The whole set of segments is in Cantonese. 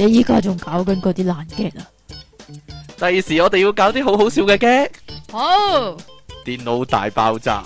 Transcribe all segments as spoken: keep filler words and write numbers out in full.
你依家仲搞緊嗰啲爛 gag 啊？ 第時我哋要搞啲好好笑嘅 gag。 好， 電腦大爆炸。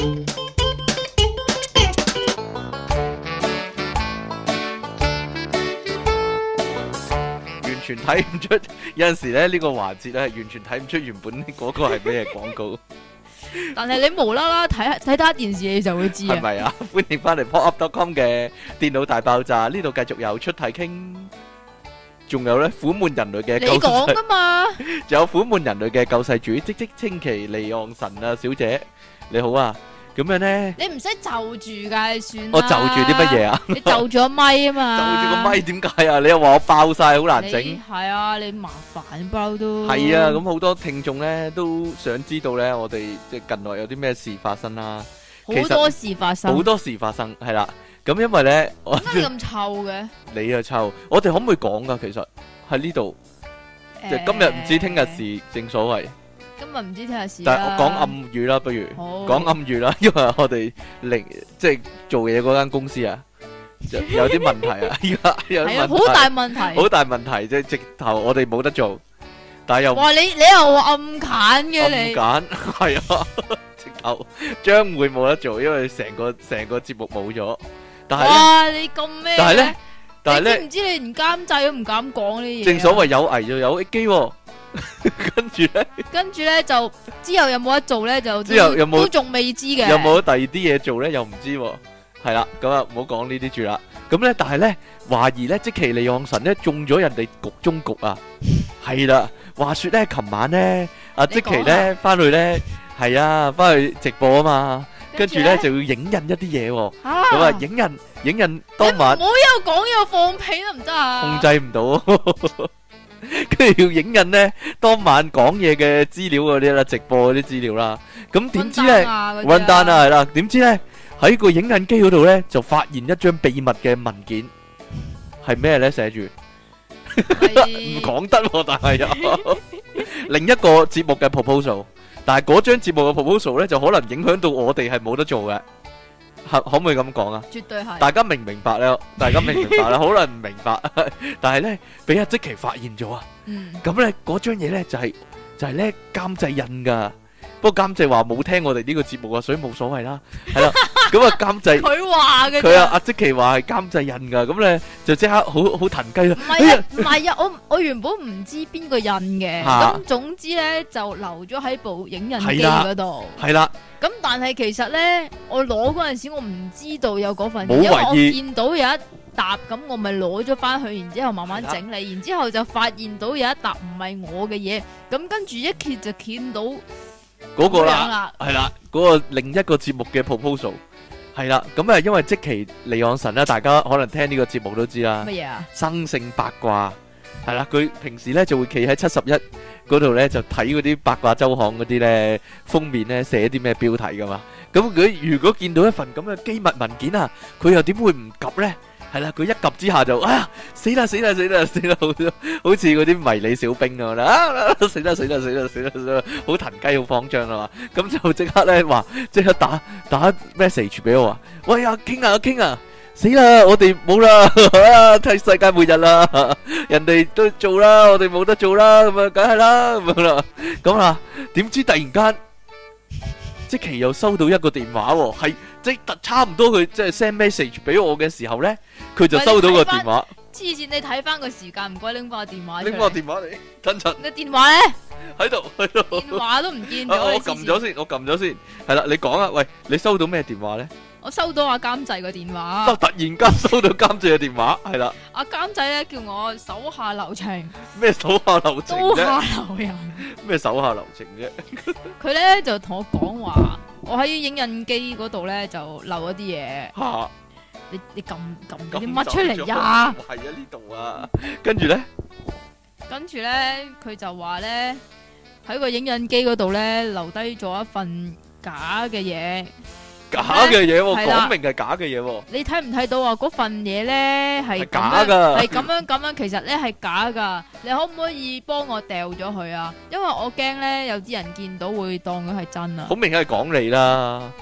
完全睇唔出，有陣時咧呢個環節咧係完全睇唔出原本嗰個係咩廣告。 但係你無啦啦睇睇打電視你就會知啊。 係咪啊？歡迎翻嚟 pop up dot com 嘅電腦大爆炸，呢度繼續有出體傾，仲有咧苦悶人類嘅救你講世， 噶嘛？ 仲有苦悶人類嘅救世主，即即稱其離岸神啊，小姐你好啊！咁樣咧， 你唔使就住噶，你算啦。 我就住啲乜嘢啊？ 你就住個咪啊嘛。 就住個咪點解啊？你又話我爆晒，好難整。 你係啊，你麻煩包都。 係啊，咁好多聽眾咧都想知道咧，我哋即係近來有啲咩事發生啦。 好多事發生。 好多事發生，係啦。咁因為咧，我點解咁臭嘅？ 你啊臭，我哋可唔可以講噶？其實喺呢度，即係今日唔知聽日事，正所謂。 今日唔知聽日事啦。 但係我講暗語啦，不如好講暗語啦，因為我哋零即係做嘢嗰間公司啊，有有啲問題啊，依家有啲係啊， 問題， 好大問題。 好大問題，即係直頭我哋冇得做，但係又哇！你你又話暗揀嘅你。 暗揀係啊，直頭將會冇得做，因為成個成個節目冇咗。但係咧， 哇！你咁咩？ 但係咧，但係咧， 你知唔知你連監製都唔敢講呢啲嘢啊？ 正所謂有危就有機喎。跟住咧， 跟住咧就之後有冇得做咧？就之後有冇都仲未知嘅。 有冇第二啲嘢做咧？又唔知喎。係啦，咁啊唔好講呢啲住啦。咁咧，但係咧懷疑咧，積淇離岸神咧中咗人哋局中局啊。係啦，話說咧，琴晚咧，阿積淇咧翻去咧，係啊，翻去直播啊嘛。跟住咧就要影印一啲嘢喎。咁啊，影印影印當晚。 唔好一路講一路放屁得唔得啊？ 控制唔到。跟住要影印咧，當晚講嘢嘅資料嗰啲啦，直播嗰啲資料啦。咁點知咧，搵單啊，係啦。點知咧喺個影印機嗰度咧，就發現一張秘密嘅文件，係咩咧？寫住唔講得，但係有另一個節目嘅 proposal，但係嗰張節目嘅 proposal 咧，就可能影響到我哋係冇得做嘅。可可唔可以咁講啊？ 絕對係。大家明唔明白咧？大家明唔明白咧？可能唔明白，但係咧俾阿積淇發現咗啊！咁咧嗰張嘢咧就係就係咧監製印噶。不過監製話冇聽我哋呢個節目啊，所以冇所謂啦。係啦，咁啊監製佢話嘅， 佢啊阿積淇話係監製印噶，咁咧就即刻好好騰雞啦。 唔係啊，唔係啊，我我原本唔知邊個印嘅，咁總之咧就留咗喺部影印機嗰度。 係啦。 咁但係其實咧，我攞嗰陣時我唔知道有嗰份嘢，因為我見到有一沓，咁我咪攞咗翻去，然之後慢慢整理，然之後就發現到有一沓唔係我嘅嘢，咁跟住一揭就見到嗰個啦，係啦，嗰個另一個節目嘅 proposal 係啦，咁啊因為積淇離岸神啦，大家可能聽呢個節目都知啦， 乜嘢啊？ 生性八卦係啦，佢平時咧就會企喺七十一嗰度咧就睇嗰啲八卦周刊嗰啲咧封面咧寫啲咩標題噶嘛，咁佢如果見到一份咁嘅機密文件啊，佢又點會唔及咧？係啦，佢一及之下就啊死啦死啦死啦死啦，好好似嗰啲迷你小兵咁啦，啊死啦死啦死啦死啦死啦，好騰雞好慌張啊嘛，咁就即刻咧話即刻打打 message 俾我話，喂阿傾啊阿傾啊！死啦！我哋冇啦，睇世界末日啦！人哋都做啦，我哋冇得做啦，咁啊，梗係啦，咁樣啦，咁啦，點知突然間，積淇又收到一個電話，係即係差唔多佢即係 send message 俾我嘅時候咧，佢就收到個電話。 黐線，你睇翻個時間，唔該拎翻個電話。 拎翻個電話嚟，等陣。 個電話咧？ 喺度，喺度。 電話都唔見咗。 我撳咗先，我撳咗先。係啦，你講啊，喂，你收到咩電話咧？ 我收到阿監製個電話， 突然間收到監製嘅電話，係啦。 阿監製咧叫我手下留情。 咩手下留情啫？ 刀下留人。 咩手下留情啫？ 佢咧就同我講話，我喺影印機嗰度咧就漏咗啲嘢。 吓， 你你撳撳啲乜出嚟呀？ 係啊，呢度啊。跟住咧， 跟住咧，佢就話咧喺個影印機嗰度咧留低咗一份假嘅嘢。 假嘅嘢，講明係假嘅嘢。 你睇唔睇到啊？嗰份嘢咧係假噶， 係咁樣咁樣，其實咧係假噶。你可唔可以幫我掉咗佢啊？因為我驚咧有啲人見到會當佢係真啊。 好明顯係講你啦，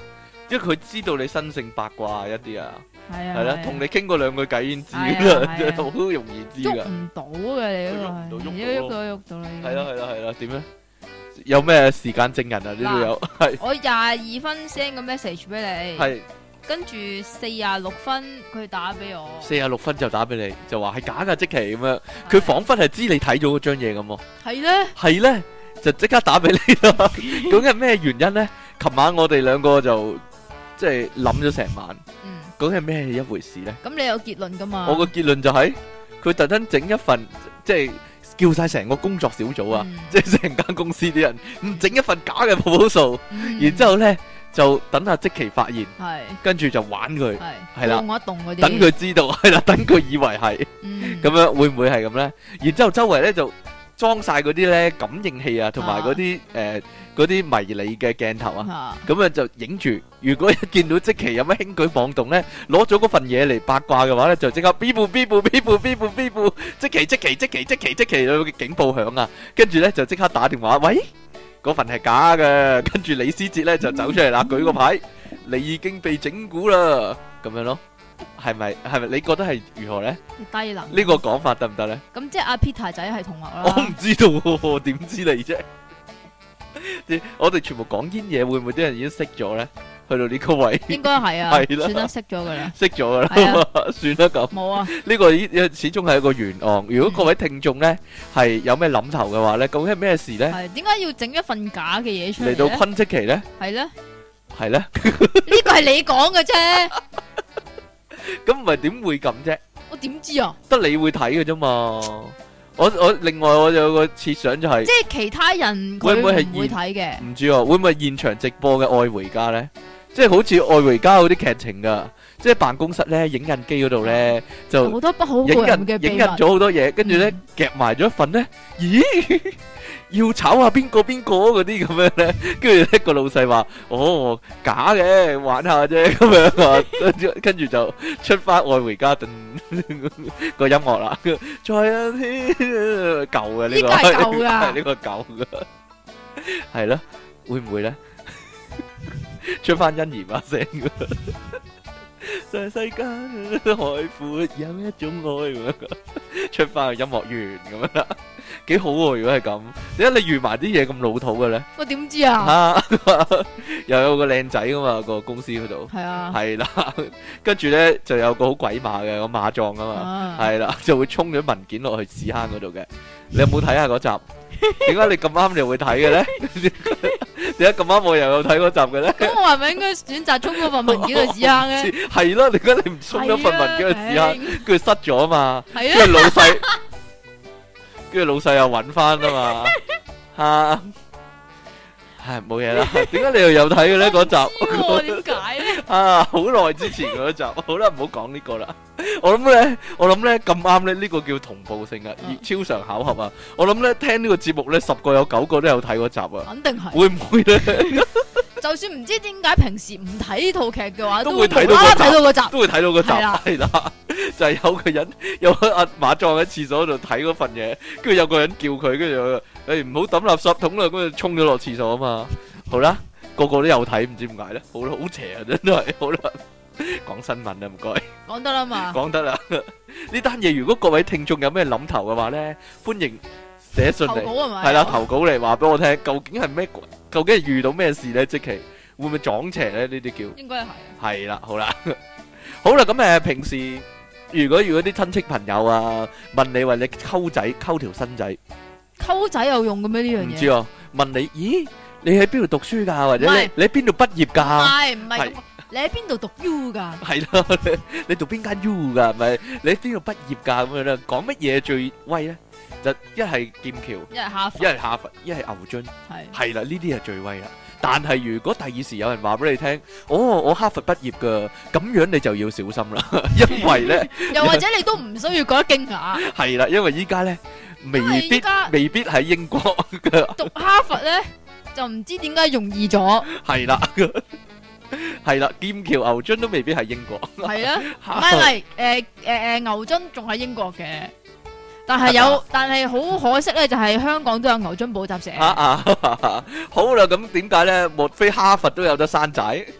因為佢知道你生性八卦一啲啊， 係啊， 係啦，同你傾過兩句偈已經知係啊啦， 係啊好容易知喐噶。 唔到嘅你嗰喐唔到個， 喐到一喐到喐到啦。 係啦係啦係啦，點咧？有咩時間證人啊？呢度有係我廿二分 send 個 message 俾你， 係跟住四廿六分佢打俾我， 四十六分就打俾你，就話係假噶，即期咁樣。佢彷彿係知你睇咗嗰張嘢咁喎。 係咧， 係咧，就即刻打俾你啦。究竟係咩原因咧？琴晚我哋兩個就即係諗咗成晚， 嗯， 究竟係咩一回事咧？ 咁你有結論噶嘛？ 我個結論就係佢特登整一份，即係叫晒成個工作小組啊， 嗯即係成間公司啲人唔整一份假嘅 proposal， 嗯然之後咧就等阿即期發現， 係跟住就玩佢， 係係啦動一動嗰啲， 等佢知道，係啦，等佢以為係嗯咁樣，會唔會係咁咧？然之後周圍咧就裝晒嗰啲咧感應器啊，同埋嗰啲誒嗰啲迷你嘅鏡頭啊。 嚇咁啊就影住，如果一見到即期有乜輕舉妄動咧，攞咗嗰份嘢嚟八卦嘅話咧，就即刻 B 部 B 部 B 部 B 部 B 部，即期即期即期即期即期有個警報響啊，跟住咧就即刻打電話，喂，嗰份係假嘅，跟住李思捷咧就走出嚟啦，舉個牌，你已經被整蠱啦，咁樣咯，係咪係咪？你覺得係如何咧？ 低能呢個講法得唔得咧？ 咁即係阿 Peter 仔係同學啦。 我唔知道喎，點知你啫？我哋全部講煙嘢，會唔會啲人已經識咗咧？去到呢個位， 應該係啊， 係啦算得識咗噶啦， 識咗噶啦， 係算啦咁。 冇啊， 呢個依始終係一個懸案。如果各位聽眾咧係有咩諗頭嘅話咧，究竟係咩事咧？ 係點解要整一份假嘅嘢出嚟嚟到咧？ 昆積奇咧， 係咧，呢係咧， 個係你講嘅啫， 咁唔係點會咁啫？ 我點知啊？ 得你會睇嘅啫嘛。我我另外我有個設想就係即係其他人佢會唔會係唔會睇嘅？ 唔知啊，會唔會係現場直播嘅《愛回家》咧？即係好似《愛回家》嗰啲劇情噶，即係辦公室咧影印機嗰度咧就好多不好影個人印嘅秘密。 影印咗好多嘢，跟住咧夾埋咗一份咧，咦？要炒下邊個邊個嗰啲咁樣咧，跟住咧個老細話：哦，假嘅，玩下啫咁樣啊，跟住跟住就出翻《愛回家》頓個音樂啦，再有啲舊嘅呢個， 呢個係舊㗎係呢個舊嘅，係咯，會唔會咧？出翻欣宜把聲嘅，在世間海闊有一種愛咁樣，出翻個音樂員咁樣啦，幾好喎！如果係咁，點解你預埋啲嘢咁老土嘅咧？ 我點知啊？ 啊，又有個靚仔噶嘛個公司嗰度， 係啊， 係啦，跟住咧就有個好鬼馬嘅個馬壯啊嘛， 啊係啦，就會沖咗文件落去屎坑嗰度嘅。你有冇睇下嗰集？點解你咁啱你會睇嘅咧？點解咁啱我又有睇嗰集嘅咧？ 咁我係咪應該選擇沖嗰份文件去屎坑咧？ 係咯，點解你唔沖咗份文件去屎坑？ 係啊跟住塞咗啊嘛， 係啊跟住老細，跟住老細又揾翻啊嘛，吓，係冇嘢啦。點解你又有睇嘅咧嗰集？ 我點解咧？ 啊，好耐之前嗰集，好啦，唔好講呢個啦。我諗咧，我諗咧咁啱咧，呢個叫同步性啊，超常巧合啊。我諗咧聽呢個節目咧，十個有九個都有睇嗰集啊。 肯定係。 會唔會咧？ 就算唔知點解平時唔睇呢套劇嘅話， 都會睇無啦啦到嗰集睇到嗰集。 都會睇到嗰集， 係啦係啦，就係有個人有個阿馬壯喺廁所度睇嗰份嘢，跟住有個人叫佢，跟住誒唔好抌垃圾桶啦，跟住衝咗落廁所啊嘛。好啦，個個都有睇，唔知點解咧？好啦，好邪啊，真係好啦。講新聞啊，唔該。 講得啦嘛。 講得啦。呢單嘢如果各位聽眾有咩諗頭嘅話咧，歡迎寫信投嚟， 稿係咪？ 係啦，投稿嚟話俾我聽，究竟係咩？究竟係遇到咩事咧？即期會唔會撞邪咧？呢啲叫應該係。 係啦，好啦，好啦，咁誒，平時如果如果啲親戚朋友啊問你話你溝仔溝條新仔， 溝仔有用嘅咩呢樣嘢？ 唔知啊，問你，咦，你喺邊度讀書㗎？或者唔係你你喺邊度畢業唔㗎？ 係唔係係咁，你喺邊度讀 U 㗎？ 係咯，你你讀邊間 U 㗎？咪你喺邊度畢業㗎？咁樣咧，講乜嘢最威咧？就一係劍橋， 一係哈佛， 一係哈佛，一係牛津， 係係啦，呢啲係最威啦。但係如果第二時有人話俾你聽，哦，我哈佛畢業㗎，咁樣你就要小心啦，因為咧又或者你都唔需要覺得驚訝。 係啦，因為依家咧未因為必依家未必喺英國嘅， 讀哈佛咧就唔知點解容易咗， 係啦，係啦，劍橋牛津都未必係英國， 係啊，唔係唔係，誒誒誒牛津仲喺英國嘅，但係有，但係好可惜咧，就係香港都有牛津補習社。 啊啊，好啦，咁點解咧？莫非哈佛都有得生仔？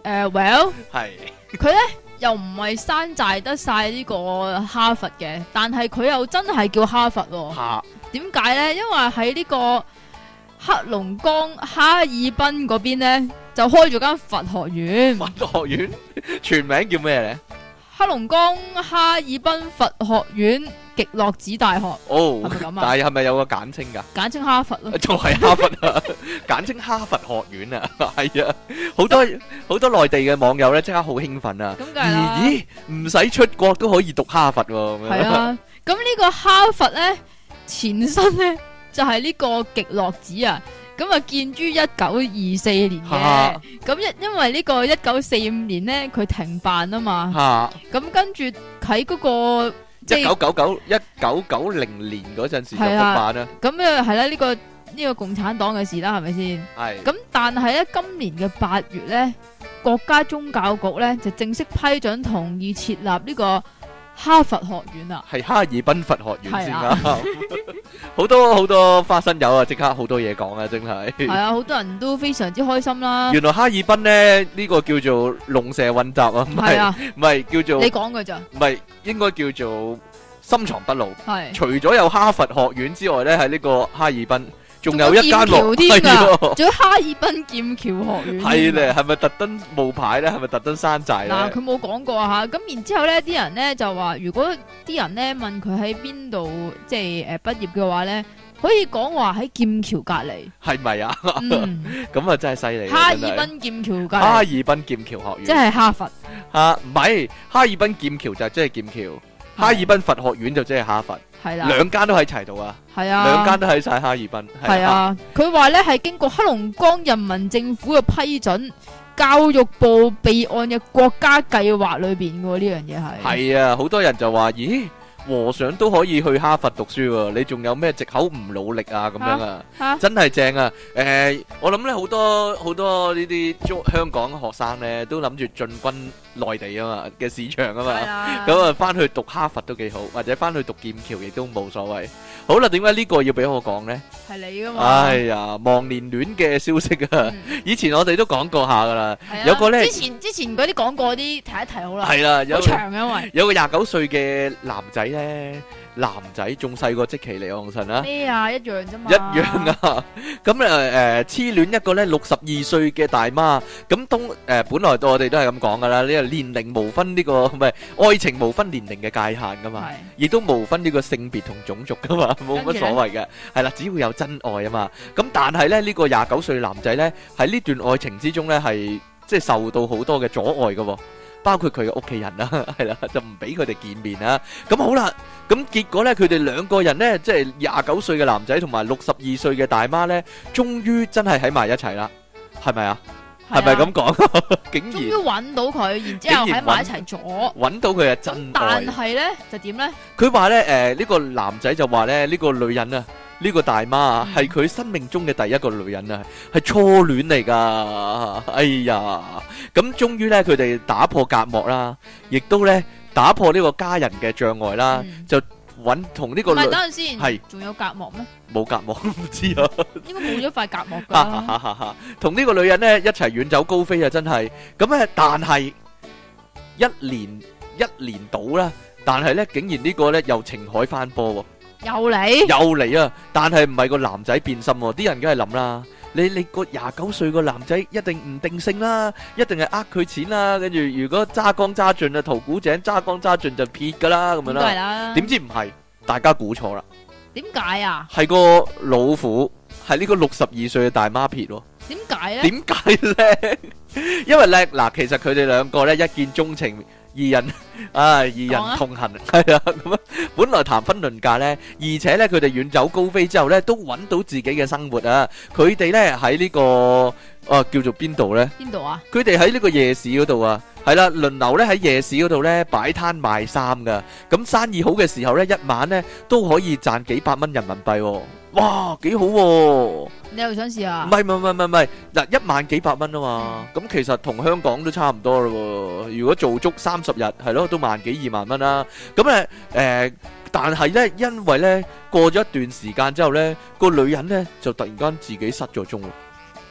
誒，well， 係佢咧又唔係山寨得晒呢個哈佛嘅，但係佢又真係叫哈佛喎。 吓， 點解咧？因為喺呢個黑龍江哈爾濱嗰邊咧，就開咗間佛學院。 佛學院全名叫咩咧？ 黑龍江哈爾濱佛學院極樂子大學， 哦， 係咪咁啊但係係咪有個簡稱噶？ 簡稱哈佛咯。 仲係哈佛啊，簡稱哈佛學院啊，係啊，好多好多內地嘅網友咧，即刻好興奮啊！ 咁梗係啦， 咦，唔使出國都可以讀哈佛喎，咁樣係啊，咁呢個哈佛咧前身咧就係呢個極樂子啊。咁啊，建於一九二四年嘅，咁因因為呢個一九四五年咧，佢停辦啊嘛，咁跟住喺嗰個一九九九一九九零年嗰陣時就復辦啦。 咁啊係啦，呢個呢個共產黨嘅事啦，係咪先？ 係。 咁但係咧，今年嘅八月咧，國家宗教局咧就正式批准同意設立呢個哈佛學院啊， 係哈爾濱佛學院先啊，好多好多花生友啊，即刻好多嘢講啊，真係。 係啊，好多人都非常之開心啦。 原來哈爾濱咧呢個叫做龍蛇混雜啊，唔係唔係叫做。 你講㗎咋？ 唔係，應該叫做深藏不露。 係。除咗有哈佛學院之外咧，喺呢個哈爾濱。仲有一間喎，係啊，仲有哈爾濱劍橋學院。 係咧，係咪特登冒牌咧？係咪特登山寨咧？ 嗱，佢冇講過啊嚇。咁然之後咧，啲人咧就話，如果啲人咧問佢喺邊度，即係誒畢業嘅話咧，可以講話喺劍橋隔離。係咪啊？ 嗯， 咁啊真係犀利。 哈爾濱劍橋隔離。 哈爾濱劍橋學院。 即係哈佛。 嚇唔係，哈爾濱劍橋就即係劍橋，哈爾濱佛學院就即係哈佛。 係啦， 兩間都喺齊度啊！ 係啊， 兩間都喺晒哈爾濱。 係啊，佢話咧係經過黑龍江人民政府嘅批准，教育部備案嘅國家計劃裏邊嘅呢樣嘢係。係啊，好多人就話：咦，和尚都可以去哈佛讀書喎，你仲有咩藉口唔努力啊？咁樣啊，啊真係正啊！誒、呃，我諗咧好多好多呢啲中香港學生咧都諗住進軍內地啊嘛嘅市場啊嘛，咁啊翻去讀哈佛都幾好，或者翻去讀劍橋亦都冇所謂。好啦，點解呢個要俾我講呢？ 係你噶嘛？ 哎呀，忘年戀嘅消息啊！嗯、以前我哋都講過下噶啦， 啊、 有個咧， 之前之前嗰啲講過啲提一提好啦， 係啦， 好長因為有個廿九歲嘅男仔咧。男仔仲細過積淇離岸神啊！ 咩啊，一樣啫嘛！ 一樣啊！咁誒誒，痴戀一個咧六十二歲嘅大媽，咁當誒本來我哋都係咁講噶啦，呢個年齡無分呢個唔係愛情無分年齡嘅界限噶嘛，亦都無分呢個性別同種族噶嘛，冇乜所謂嘅，係啦，只要有真愛啊嘛。咁但係咧呢個廿九歲男仔咧喺呢段愛情之中咧係即係受到好多嘅阻礙噶。包括佢嘅屋企人啦，係啦，就唔俾佢哋見面啦。咁好啦，咁結果咧，佢哋兩個人咧，即係廿九歲嘅男仔同埋六十二歲嘅大媽咧，終於真係喺埋一齊啦，係咪啊？係咪咁講？竟然終於揾到佢，然之後喺埋一齊咗， 揾到佢嘅真愛。 但係咧就點咧？ 佢話咧，誒呢個男仔就話咧，呢個女人啊。呢個大媽啊，係佢生命中嘅第一個女人啊，係初戀嚟噶。哎呀，咁終於咧，佢哋打破隔膜啦，亦都咧打破呢個家人嘅障礙啦，嗯、就揾同呢個女。唔係，等陣先，係仲有隔膜咩？冇隔膜，唔知啊。應該冇咗塊隔膜㗎。同呢個女人咧一齊遠走高飛啊！真係咁咧，但係一年一年到啦，但係咧竟然呢個咧又情海翻波喎。又嚟又嚟啊！但係唔係個男仔變心喎，啲人梗係諗啦。你你個廿九歲個男仔一定唔定性啦，一定係呃佢錢啦。跟住如果揸乾揸盡啊，淘古井揸乾揸盡就撇噶啦，咁樣啦。係啦。點知唔係，大家估錯啦。點解啊？係個老虎，係呢個六十二歲嘅大媽撇喎。點解咧？點解咧？因為咧嗱，其實佢哋兩個咧一見鍾情。二人啊，二人同行係啊，咁啊，本來談婚論嫁咧，而且咧佢哋遠走高飛之後咧，都揾到自己嘅生活啊！佢哋咧喺呢個啊叫做邊度咧？邊度啊？佢哋喺呢個夜市嗰度啊，係啦，輪流咧喺夜市嗰度咧擺攤賣衫噶，咁生意好嘅時候咧，一晚咧都可以賺幾百蚊人民幣，哇，幾好喎！你又想試下？唔係唔係唔係唔係，嗱，一晚幾百蚊啊嘛，咁其實同香港都差唔多咯。如果做足三十日，係咯，都萬幾二萬蚊啦。咁咧誒，但係咧，因為咧過咗一段時間之後咧，個女人咧就突然間自己失咗蹤喎。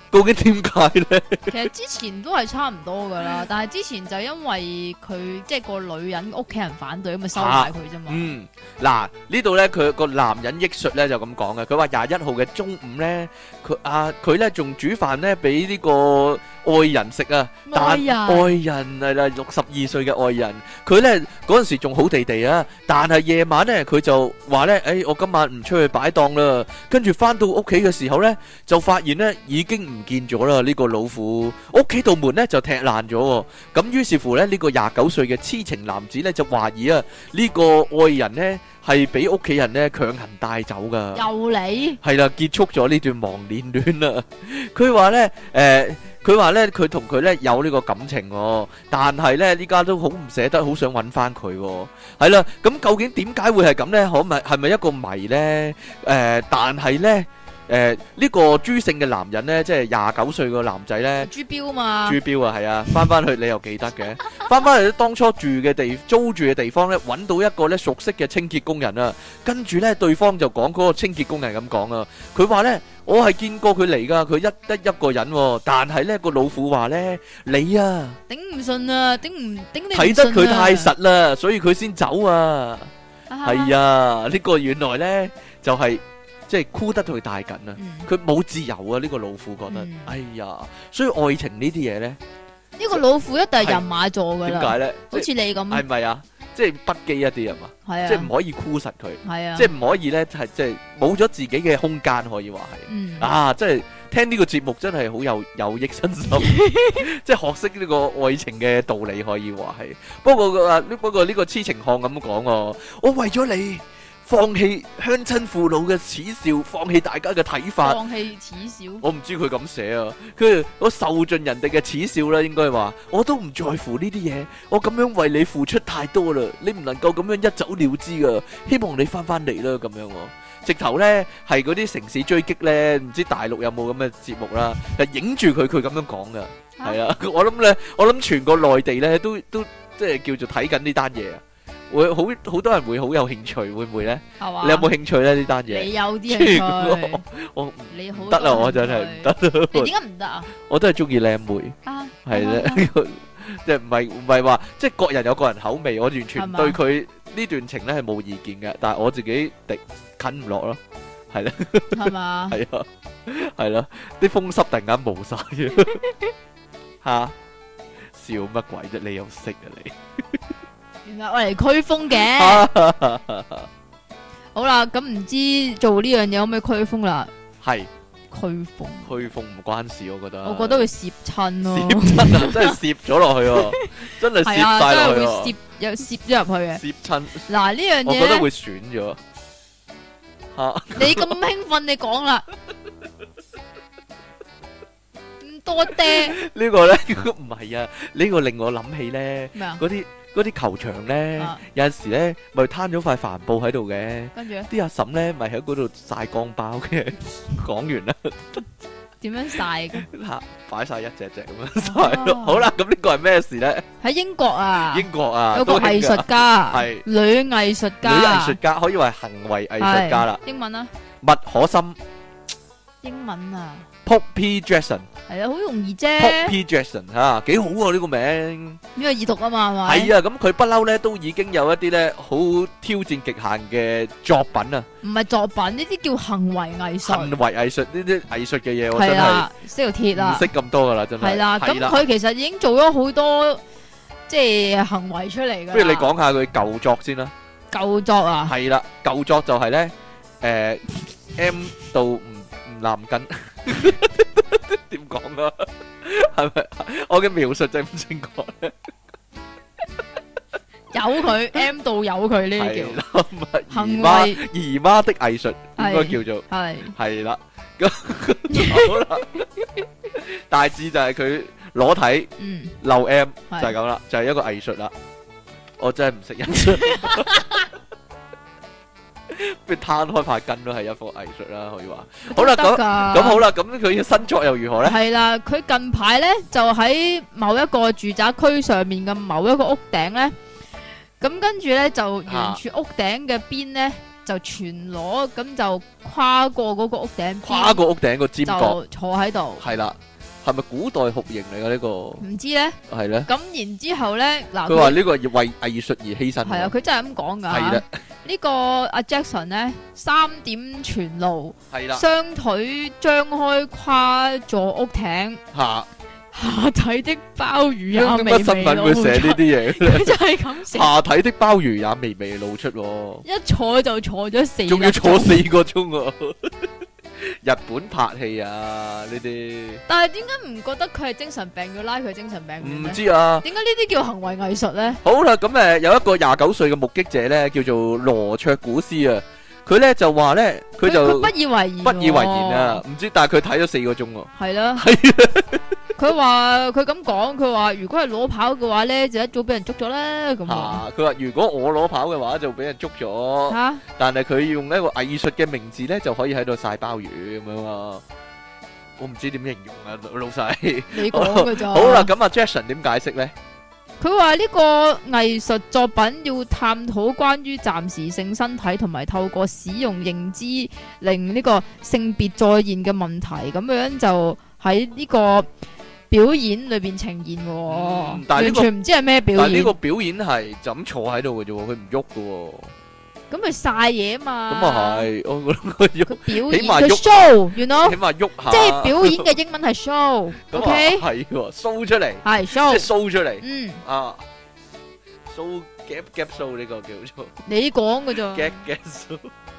究竟點解咧？ 其實之前都係差唔多噶啦，但係之前就因為佢即係個女人屋企人反對，咁咪收埋佢啫嘛。 嗯，嗱呢度咧，佢個男人憶述咧就咁講嘅，佢話廿一號嘅中午咧，佢啊佢咧仲煮飯咧俾呢個愛人食啊，但愛人愛人係啦，六十二歲嘅愛人，佢咧嗰陣時仲好地地啊，但係夜晚咧佢就話咧，誒我今晚唔出去擺檔啦，跟住翻到屋企嘅時候咧，就發現咧已經唔見咗啦，呢個老婦屋企道門咧就踢爛咗，咁於是乎咧呢個廿九歲嘅痴情男子咧就懷疑啊呢個愛人咧係俾屋企人咧強行帶走噶， 又嚟係啦，結束咗呢段忘年戀啦。佢話咧誒。佢話咧，佢同佢咧有呢個感情喎，但係咧呢家都好唔捨得，好想揾翻佢喎。係啦，咁究竟點解會係咁咧？可咪係咪一個謎咧？誒，但係咧誒呢個朱姓嘅男人咧，即係廿九歲個男仔咧， 朱標嘛， 朱標啊，係啊，翻翻去你又記得嘅，翻翻去當初住嘅地租住嘅地方咧，揾到一個咧熟悉嘅清潔工人啊，跟住咧對方就講嗰個清潔工人咁講啊，佢話咧。我係見過佢嚟噶，佢一得一個人，但係咧個老婦話咧，你啊頂唔順啊，頂唔頂你睇得佢太實啦，所以佢先走啊。係啊，呢個原來咧就係即係箍得佢太緊啊，佢冇自由啊。呢個老婦覺得，哎呀，所以愛情呢啲嘢咧， 呢個老婦一定係人馬座噶啦。 點解咧？ 好似你咁， 係咪啊？即係不羈一啲啊嘛， 係啊， 即係唔可以箍實佢， 係啊， 即係唔可以咧，係即係冇咗自己嘅空間，可以話係，嗯、啊，即係聽呢個節目真係好有有益身心，即係學識呢個愛情嘅道理，可以話係。不過啊，不過呢個痴情漢咁講喎，我為咗你。放棄鄉親父老嘅恥笑，放棄大家嘅睇法。 放棄恥笑， 我唔知佢咁寫啊。佢我受盡人哋嘅恥笑啦，應該話我都唔在乎呢啲嘢。我咁樣為你付出太多啦，你唔能夠咁樣一走了之噶。希望你翻翻嚟啦，咁樣。直頭咧係嗰啲城市追擊咧，唔知大陸有冇咁嘅節目啦，係影住佢，佢咁樣講噶。係啊，我諗咧，我諗全個內地咧都都即係叫做睇緊呢單嘢啊。會好好多人會好有興趣，會唔會咧？係嘛？你有冇興趣咧？呢單嘢？ 你有啲興趣， 我你好得啦，我真係唔得。 你點解唔得啊？ 我都係中意靚妹，係咧，即係唔係唔係話，即係各人有各人口味，我完全對佢呢段情咧係冇意見嘅，但係我自己敵近唔落咯，係咧， 係嘛？ 係啊，係咯，啲風濕突然間冇晒吓，笑乜鬼啫？你又識啊你？ 原來我嚟驅風嘅，好啦，咁唔知做呢樣嘢可唔可以驅風啦？ 係驅風， 驅風唔關事，我覺得。 我覺得會攝親咯， 攝親啊，真係攝咗落去，真係攝晒落去， 攝有攝咗入去嘅。 攝親， 嗱呢樣嘢， 我覺得會損咗。吓， 你咁興奮，你講啦。多爹呢個咧唔係啊，呢個令我諗起咧，嗰啲嗰啲球場咧，有陣時咧咪攤咗塊帆布喺度嘅，跟住啲阿嬸咧咪喺嗰度曬光包嘅。講完啦， 點樣曬嘅？ 吓，擺晒一隻隻咁樣曬咯。好啦，咁呢個係咩事咧？ 喺英國啊， 英國啊， 有個藝術家，係女藝術家， 女藝術家可以話係行為藝術家啦。 英文啊， 麥可森。 英文啊。 Poppy Jackson 係啊，好容易啫。 Poppy Jackson 吓，幾好啊呢個名。 呢個易讀啊嘛，係咪？ 係啊，咁佢不嬲咧，都已經有一啲咧好挑戰極限嘅作品啊。 唔係作品，呢啲叫行為藝術。 行為藝術呢啲藝術嘅嘢，我真係識條鐵啦， 唔識咁多噶啦，真係。 係啦，咁佢其實已經做咗好多即係行為出嚟噶。不如你講下佢舊作先啦。 舊作啊？ 係啦，舊作就係咧，誒 M 到唔唔男緊。點講啊？係咪我嘅描述正唔正確咧？有佢 M 到有佢呢啲叫行為姨媽的藝術，應該叫做係係啦。咁好啦，大致就係佢裸體漏 M 就係咁啦，就係一個藝術啦。我真係唔識欣賞。不如攤開塊筋都係一幅藝術啦，可以話。好啦，咁咁好啦，咁佢嘅新作又如何咧？係啦， 佢近排咧就喺某一個住宅區上面嘅某一個屋頂咧，咁跟住咧就沿住屋頂嘅邊咧就全裸咁就跨過嗰個屋頂， 跨過屋頂個尖角， 就坐喺度。 係啦，係咪古代酷刑嚟噶呢個？ 唔知咧， 係咧。 咁然之後咧，嗱， 佢話呢個係為藝術而犧牲。 係啊，佢真係咁講噶。 係啦， 呢個阿 Jackson 咧三點全露， 係啦， 雙腿張開跨座屋頂。 吓。 下體的鮑魚也微微露出。 新聞會寫呢啲嘢， 佢就係咁寫。 下體的鮑魚也微微露出， 一坐就坐咗四， 仲要坐四個鐘啊！日本拍戲啊呢啲。但係點解唔覺得佢係精神病要拉佢精神病院咧？ 唔知啊。 點解呢啲叫行為藝術咧？ 好啦，咁誒有一個廿九歲嘅目擊者咧，叫做羅卓古斯啊。佢咧就話咧，佢就不以為然， 不以為然啊！唔知，但係佢睇咗四個鐘喎。係啦，佢話佢咁講，佢話如果係裸跑嘅話咧，就一早俾人捉咗啦。咁啊，佢話如果我裸跑嘅話，就俾人捉咗。吓，但係佢用一個藝術嘅名字咧，就可以喺度曬鮑魚咁樣啊！我唔知點形容啊，老細。你講嘅咋？好啦，咁啊 Jackson 點解釋咧？ 佢話呢個藝術作品要探討關於暫時性身體同埋透過使用認知令呢個性別再現嘅問題，咁樣就喺呢個表演裏邊呈現。嗯，但係呢個，完全唔知係咩表演。 但係呢個表演係就咁坐喺度嘅啫，佢唔喐嘅。 咁咪曬嘢啊嘛。咁啊係，我覺得佢喐， 佢表演， 起碼佢 show，you know， 起碼喐下。 即係表演嘅英文係 show，OK？ 係喎，show 出嚟， 係 show， 即係 show 出嚟。 嗯啊 ，show gap gap show 呢個叫做。 你講嘅咋 ？gap gap show。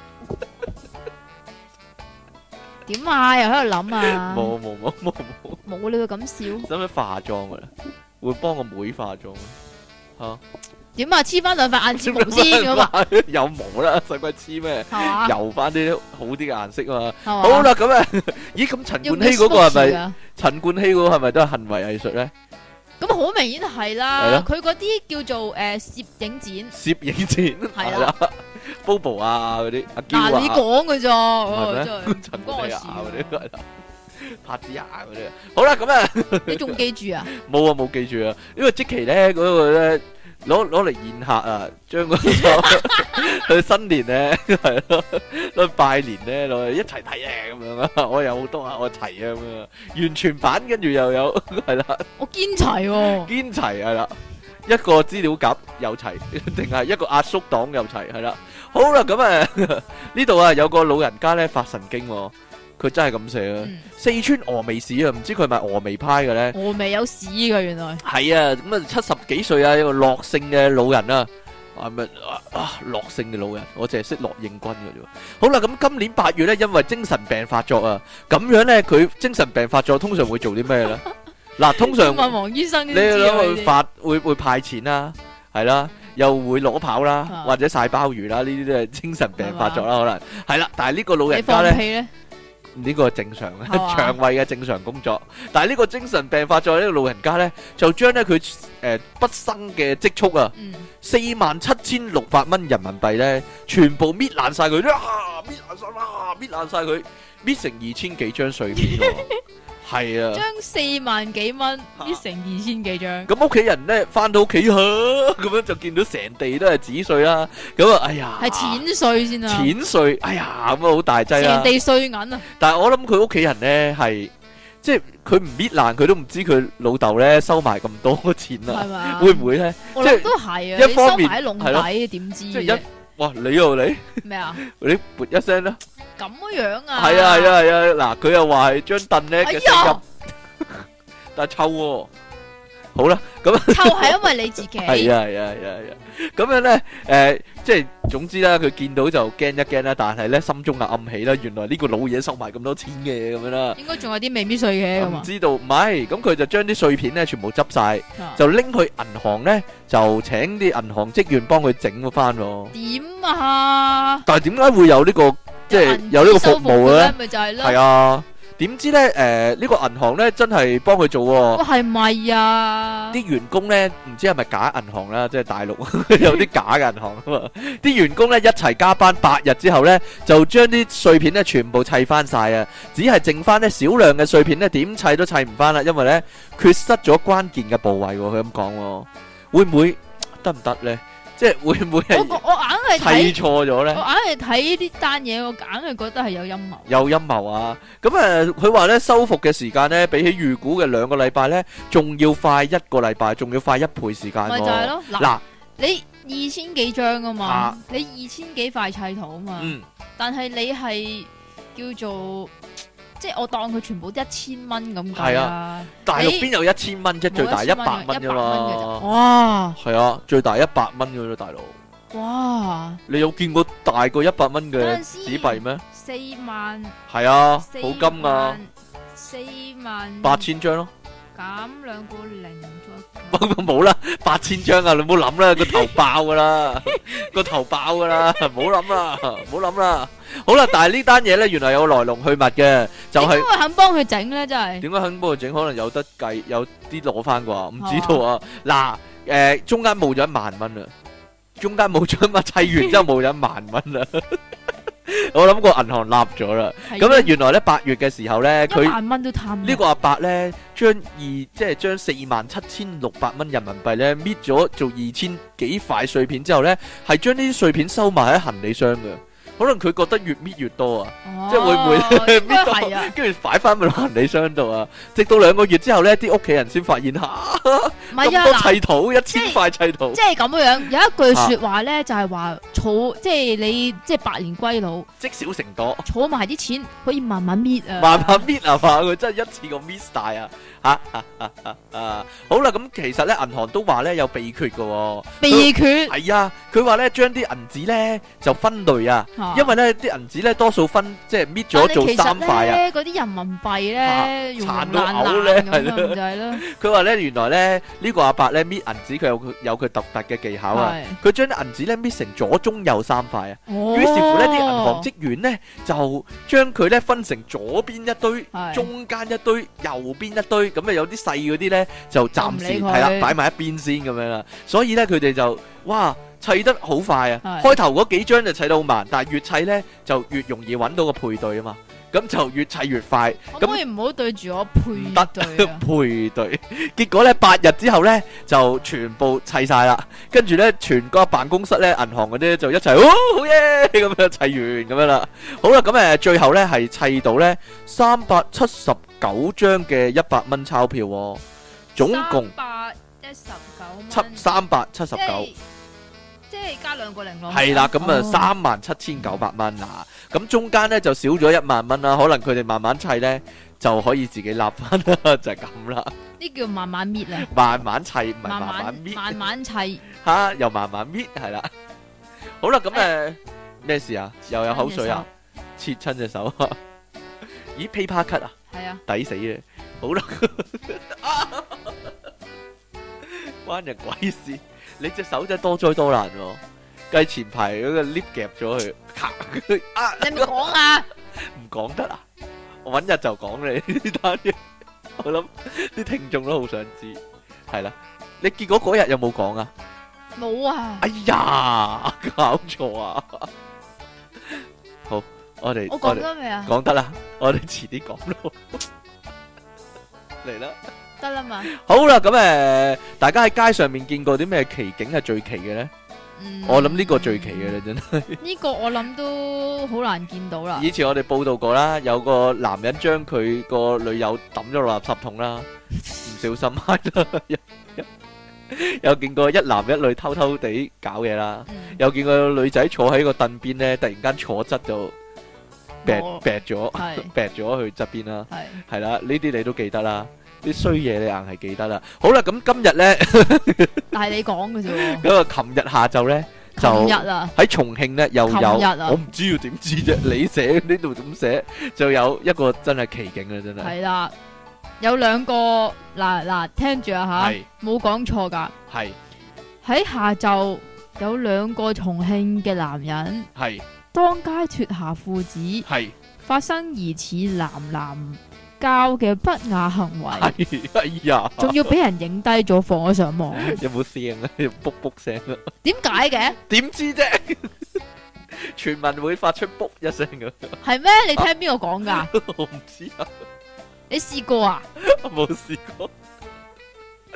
點啊？又喺度諗啊？ 冇冇冇冇冇。 冇你會咁笑？ 使唔使化妝噶啦？會幫個妹化妝吓？ 點啊？黐翻兩塊眼睫毛先咁啊？ 有毛啦，使鬼黐咩？油翻啲好啲嘅顏色啊嘛。好啦，咁啊，咦？咁陳冠希嗰個係咪？陳冠希嗰個係咪都係行為藝術咧？ 咁好明顯係啦。佢嗰啲叫做誒攝影展。攝影展係啦。Bobo 啊嗰啲阿嬌啊。嗱， 你講嘅咋？ 係咩？陳冠希啊嗰啲係啦。拍子啊嗰啲。好啦，咁啊。 你仲記住啊？ 冇啊，冇記住啊。因為積淇咧嗰個咧。攞攞嚟宴客啊，將嗰個去新年咧係咯，攞拜年咧攞嚟一齊睇啊咁樣啊，我有好多啊，我齊啊咁樣，完全版跟住又有係啦， 我堅齊喎， 堅齊係啦，一個資料夾又齊，定係一個壓縮檔又齊係啦，好啦咁啊呢度啊有個老人家咧發神經。佢真係咁寫啊！四川峨眉市啊，唔知佢係咪峨眉派嘅咧？ 峨眉有市㗎原來。係啊，咁啊七十幾歲啊，一個樂姓嘅老人啊，係咪啊樂姓嘅老人？我淨係識樂應軍嘅啫。好啦，咁今年八月咧，因為精神病發作啊，咁樣咧佢精神病發作通常會做啲咩咧？嗱，通常問黃醫生， 你諗佢發會會派錢啦，係啦，又會裸跑啦，或者曬鮑魚啦，呢啲都係精神病發作啦，可能係啦。但係呢個老人家咧。呢個係正常嘅，腸胃嘅正常工作。但係呢個精神病發作呢個老人家咧，就將咧佢誒畢生嘅積蓄啊，四萬七千六百蚊人民幣咧，全部搣爛晒佢，啊搣爛晒啦，搣爛晒佢，搣成二千幾張碎片喎。係啊， 將四萬幾蚊搣成二千幾張。 咁屋企人咧翻到屋企嚇，咁樣就見到成地都係紙碎啦。咁啊，哎呀， 係錢碎先啊！ 錢碎，哎呀，咁啊好大劑啊！ 成地碎銀啊！ 但係我諗佢屋企人咧係，即係佢唔搣爛，佢都唔知佢老豆咧收埋咁多錢啊！係嘛？會唔會咧？ 我諗都係啊！一方面喺籠底點知？ 即係一哇，你又你咩啊？ 你撥一聲啦！ 咁樣啊？ 係啊係啊係啊！嗱，佢又話係張凳咧嘅聲音，但係臭喎。好啦，咁臭係因為你自己。 係啊係啊係啊係啊！咁樣咧，誒，即係總之啦，佢見到就驚一驚啦，但係咧心中啊暗喜啦，原來呢個老嘢收埋咁多錢嘅咁樣啦。應該仲有啲未搣碎嘅。 唔知道，唔係，咁佢就將啲碎片咧全部執晒，就拎去銀行咧，就請啲銀行職員幫佢整翻。 點啊？ 但係點解會有呢個即係有呢個服務嘅咧？ 咪就係咯。 係啊。點知咧？誒、呃，呢、這個銀行咧真係幫佢做喎、哦。 係咪啊？ 啲員工咧唔知係咪假銀行啦，即係大陸有啲假嘅銀行啊嘛。啲員工咧一齊加班八日之後咧，就將啲碎片咧全部砌翻晒啊！只係剩翻呢少量嘅碎片咧，點砌都砌唔翻啦，因為咧缺失咗關鍵嘅部位。佢咁講，會唔會得唔得咧？ 即係會唔會係我我硬係砌睇， 錯咗咧？ 我硬係睇呢單嘢，我硬係覺得係有陰謀。 有陰謀啊！咁誒，佢話咧修復嘅時間咧，比起預估嘅兩個禮拜咧，仲要快一個禮拜，仲要快一倍時間喎。 咪就係咯，嗱嗱， 你二千幾張啊嘛， 啊你二千幾塊砌圖啊嘛， 嗯， 但係你係叫做即係我當佢全部一千蚊咁係計啊， 大陸你邊有一千蚊啫？最大冇一百蚊啫一百蚊嘅咋嘛。 哇係啊，最大一百蚊嘅啫，大佬。 哇， 你有見過大過一百蚊嘅嗰陣時紙幣咩？ 四萬係啊， 四好金啊， 萬四萬八千張咯。 減兩個零再冇啦，八千張啊！你唔好諗啦，個頭爆噶啦，個頭爆噶啦，唔好諗啦，唔好諗啦。好啦，但係呢單嘢咧，原來有來龍去脈嘅，就係點解會肯幫佢整咧？真係點解肯幫佢整？可能有得計，有啲攞翻啩，唔知道啊。嗱，誒，中間冇咗一萬蚊啊，中間冇咗一萬，砌完之後冇咗一萬蚊啦。我諗個銀行立咗啦。咁咧，原來咧八月嘅時候咧，佢一萬蚊都貪呢個阿伯咧，將二即係將四萬七千六百蚊人民幣咧搣咗做二千幾塊碎片之後咧，係將呢啲碎片收埋喺行李箱嘅。可能佢覺得越搣越多啊，即係會唔會應該係啊？ 跟住擺翻去行李箱度啊？直到兩個月之後咧，啲屋企人先發現吓唔係咁多啊，嗱砌圖，一千塊砌圖即，係咁樣，有一句說話咧，就係話儲，即係你即係百年歸老， 積少成多， 儲埋啲錢可以慢慢搣啊， 慢慢搣啊嘛，佢真係一次過搣晒啊！吓吓吓吓啊！好啦，咁其實咧銀行都話咧有秘訣嘅， 秘訣係啊，佢話咧將啲銀紙咧就分類啊， 嚇因為咧啲銀紙咧多數分即係搣咗做三塊啊。 咧嗰啲人民幣咧用殘到爛嘔咧爛咁係咯樣就係咯， 佢話咧原來咧呢個阿伯咧搣銀紙佢有佢有佢獨特嘅技巧啊， 係佢將啲銀紙咧搣成左中右三塊啊。 哦於是乎咧，啲銀行職員咧就將佢咧分成左邊一堆、 係中間一堆、右邊一堆，咁啊有啲細嗰啲咧就暫時就唔理佢係啦擺埋一邊先咁樣啦。所以咧佢哋就哇砌得好快啊！ 係開頭嗰幾張就砌得好慢，但係越砌咧就越容易揾到個配對啊嘛。咁就越砌越快， 可唔可以唔好對住我配得對啊？ 配對。結果咧八日之後咧就全部砌晒啦，跟住咧全個辦公室咧銀行嗰啲就一齊，哦好嘢咁樣砌完咁樣啦。好啦，咁誒最後咧係砌到咧三百七十九張嘅一百蚊鈔票喎，總共百一十九七蚊， 三百七十九。 即係即係加兩個零咯。 係啦，咁啊哦三萬七千九百蚊啊，咁中間咧就少咗一萬蚊啦，可能佢哋慢慢砌咧就可以自己立翻啦，就係咁啦， 呢叫慢慢搣啊， 慢慢砌唔係慢慢慢慢搣慢慢砌。 吓，又慢慢搣係啦。好啦，咁誒咩事啊？又有口水啊？切親隻手啊？咦 paper cut 啊？ 係啊， 抵死啊！好啦，關人鬼事。你隻手真係多災多難喎，計前排嗰個 lift 夾咗佢，咔啊！ 你咪講啊！ 唔講得啊！我揾日就講你呢單嘢，我諗啲聽眾都好想知，係啦。你結果嗰日有冇講啊？ 冇啊！ 哎呀，搞錯啊！好，我哋我講得未啊？ 講得啦，我哋遲啲講咯，嚟啦。 得啦嘛。 好啦，咁誒，大家喺街上面見過啲咩奇景係最奇嘅咧？ 嗯我諗呢個最奇嘅啦，真係。 呢個我諗都好難見到啦。 以前我哋報道過啦，有個男人將佢個女友抌咗落垃圾桶啦，唔小心係啦。有有見過一男一女偷偷地搞嘢啦， 嗯有見過女仔坐喺個凳邊咧，突然間坐側就劈我劈咗， 係劈咗去側邊啦。 係係啦，呢啲你都記得啦，啲衰嘢你硬係記得啦。好啦，咁今日咧， 但係你講嘅啫喎。 咁啊，琴日下晝咧就琴日啊， 喺重慶咧又有， 琴日啊我唔知要點知啫，你寫呢度點寫，就有一個真係奇景啦，真係。 係啦，有兩個嗱嗱，聽住啊吓係， 冇講錯噶。 係喺下晝有兩個重慶嘅男人係當街脫下褲子， 係發生疑似男男交嘅不雅行為， 係，哎呀， 仲要俾人影低咗放咗上網。 有冇聲啊？有卜卜聲啊？ 點解嘅？ 點知啫？傳聞會發出卜一聲嘅， 係咩？你聽邊個講噶？ 我唔知啊， 你試過啊？ 我冇試過。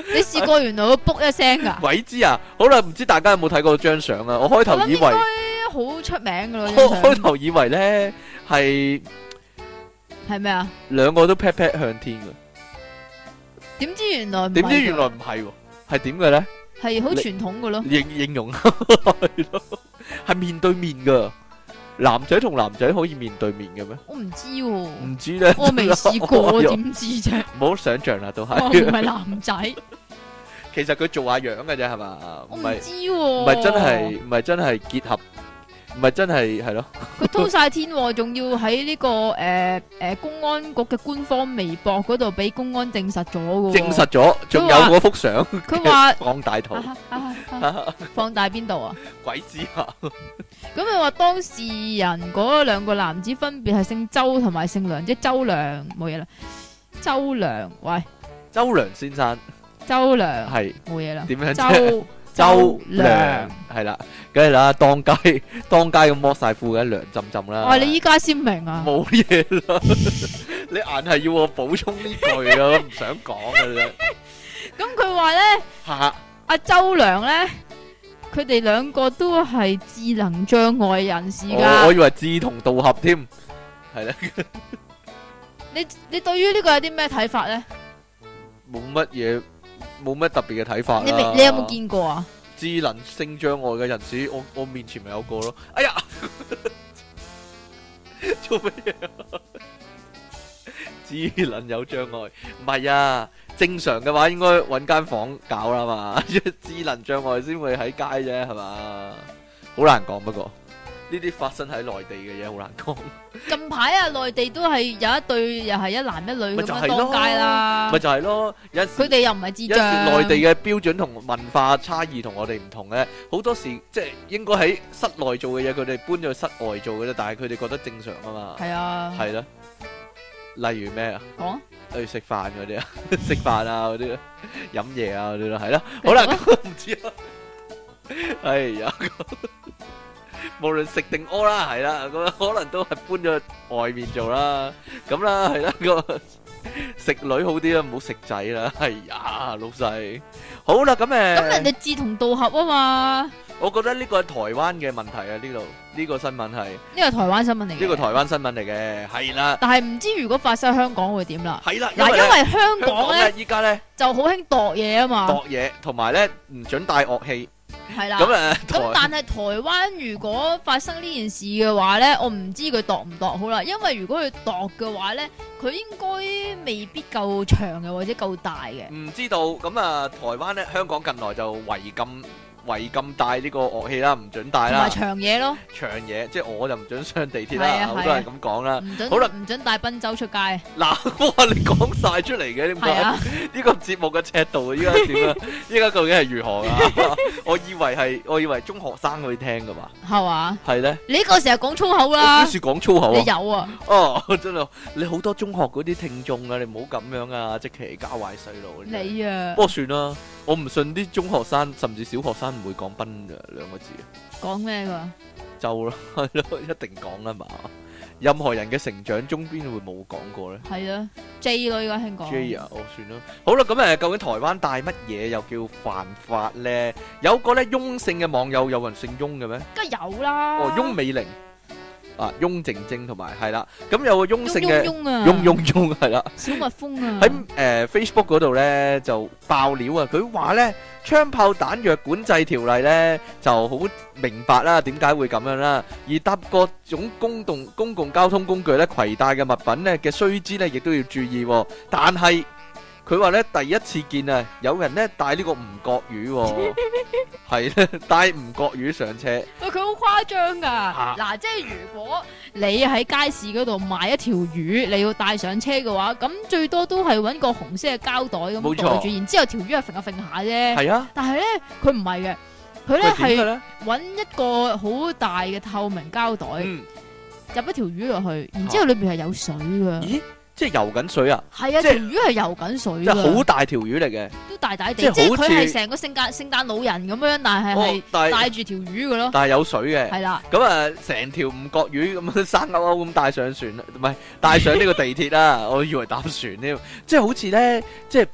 你試過原來會卜一聲噶？ 鬼知啊！好啦，唔知大家有冇睇過張相啊？我開頭以為好出名噶咯， 開開頭以為咧係係咩啊？ 兩個都 pat pat 向天嘅， 點知原來點知原來唔係喎，係點嘅咧？ 係好傳統嘅咯， 形形容係咯，係面對面噶。男仔同男仔可以面對面嘅咩？ 我唔知喎， 唔知咧， 我未試過，點知啫？ 唔好想象啦，都係。 我唔係男仔， 其實佢做下樣嘅啫，係嘛？ 我唔知喎， 唔係真係，唔係真係結合。唔係真係係咯， 佢通晒天，仲要喺呢個誒誒公安局嘅官方微博嗰度俾公安證實咗嘅。證實咗，仲有嗰幅相， 佢話放大圖， 放大邊度啊？ 鬼知啊！ 咁佢話當事人嗰兩個男子分別係姓周同埋姓梁，即係周梁冇嘢啦。周梁，喂， 周梁先生， 周梁係冇嘢啦。 點樣啫？周梁係啦，梗係啦，當街當街咁剝晒褲嘅涼浸浸啦。 哇！你依家先明啊？ 冇嘢啦，你硬係要我補充呢句啊，我唔想講嘅啫。 咁佢話咧， 吓阿周梁咧，佢哋兩個都係智能障礙人士噶。 我以為志同道合添，係咧。 你你對於呢個有啲咩睇法咧？ 冇乜嘢。冇咩特別嘅睇法啦。 你未你有冇見過啊？ 智能性障礙嘅人士，我我面前咪有個咯。哎呀，做乜嘢啊？智能有障礙，唔係啊。正常嘅話應該搵間房搞啦嘛。智能障礙先會喺街啫，係嘛？好難講，不過呢啲發生喺內地嘅嘢好難講。 近排啊，內地都係有一對又係一男一女咁樣當街啦。 咪就係咯，有佢哋又唔係智障。 有時內地嘅標準同文化差異同我哋唔同咧，好多時即係應該喺室內做嘅嘢，佢哋搬咗去室外做嘅啫。但係佢哋覺得正常啊嘛。係啊。係啦。例如咩啊？講。例如食飯嗰啲啊，食飯啊嗰啲，飲嘢啊嗰啲咯，係咯。好啦，唔知啊。哎呀。無論食定屙啦，係啦，咁可能都係搬咗外面做啦，咁啦，係啦，個食女好啲啦，唔好食仔啦，係呀，老細，好啦，咁誒，咁人哋志同道合啊嘛， 我覺得呢個係台灣嘅問題啊，呢度呢個新聞係呢個台灣新聞嚟嘅，呢個台灣新聞嚟嘅，係啦， 但係唔知如果發生香港會點啦， 係啦， 嗱，因為香港咧依家咧就好興度嘢啊嘛， 度嘢，同埋咧唔准帶樂器。 係啦， 咁誒， 咁但係台灣如果發生呢件事嘅話咧，我唔知佢度唔度好啦，因為如果佢度嘅話咧，佢應該未必夠長嘅或者夠大嘅。唔知道，咁啊，台灣咧，香港近來就違禁。違禁帶呢個樂器啦，唔准帶啦。同埋長嘢咯。長嘢，即係我就唔准上地鐵啦，好多人咁講啦。 唔准。 好啦， 唔准帶賓州出街。 嗱，哇！你講晒出嚟嘅，點解？呢個節目嘅尺度依家點啊？依家究竟係如何啊？我以為係，我以為中學生可以聽噶嘛。係嘛？係咧。你呢個成日講粗口啦。幾時講粗口啊？你有啊？哦，真係，你好多中學嗰啲聽眾啊，你唔好咁樣啊，即其教壞細路。 你啊。不過算啦，我唔信啲中學生甚至小學生唔會講賓嘅兩個字。講咩噶？就咯，係咯，一定講啦嘛。任何人嘅成長中邊會冇講過咧？係啊 ，J 咯，依家興講 J 啊，哦，算啦。好啦，咁誒，究竟台灣帶乜嘢又叫犯法咧？有個咧翁姓嘅網友，有人姓翁嘅咩？梗係有啦。哦，翁美玲。啊，翁靜晶同埋係啦，咁有個翁姓嘅翁翁翁係啦，小蜜蜂啊，喺誒 Facebook 嗰度咧就爆料啊，佢話咧槍炮彈藥管制條例咧就好明白啦，點解會咁樣啦？而搭各種公共公共交通工具咧，攜帶嘅物品咧嘅須知咧，亦都要注意。但係佢話咧第一次見啊，有人咧帶呢個吳國魚，係咧帶吳國魚上車。喂，佢好誇張噶。嗱，即係如果你喺街市嗰度買一條魚，你要帶上車嘅話，咁最多都係搵個紅色嘅膠袋咁袋住，然之後條魚係揈下揈下啫。係啊。但係咧，佢唔係嘅，佢咧係搵一個好大嘅透明膠袋，入一條魚落去，然之後裏邊係有水噶。咦？即係游緊水啊！係啊，條魚係游緊水，即係好大條魚嚟嘅，都大大地，即係佢係成個聖誕聖誕老人咁樣，但係係帶住條魚嘅咯。但係有水嘅，係啦。咁啊，成條吳國魚咁樣生勾勾咁帶上船，唔係帶上呢個地鐵啦。我以為搭船添，即係好似咧，即係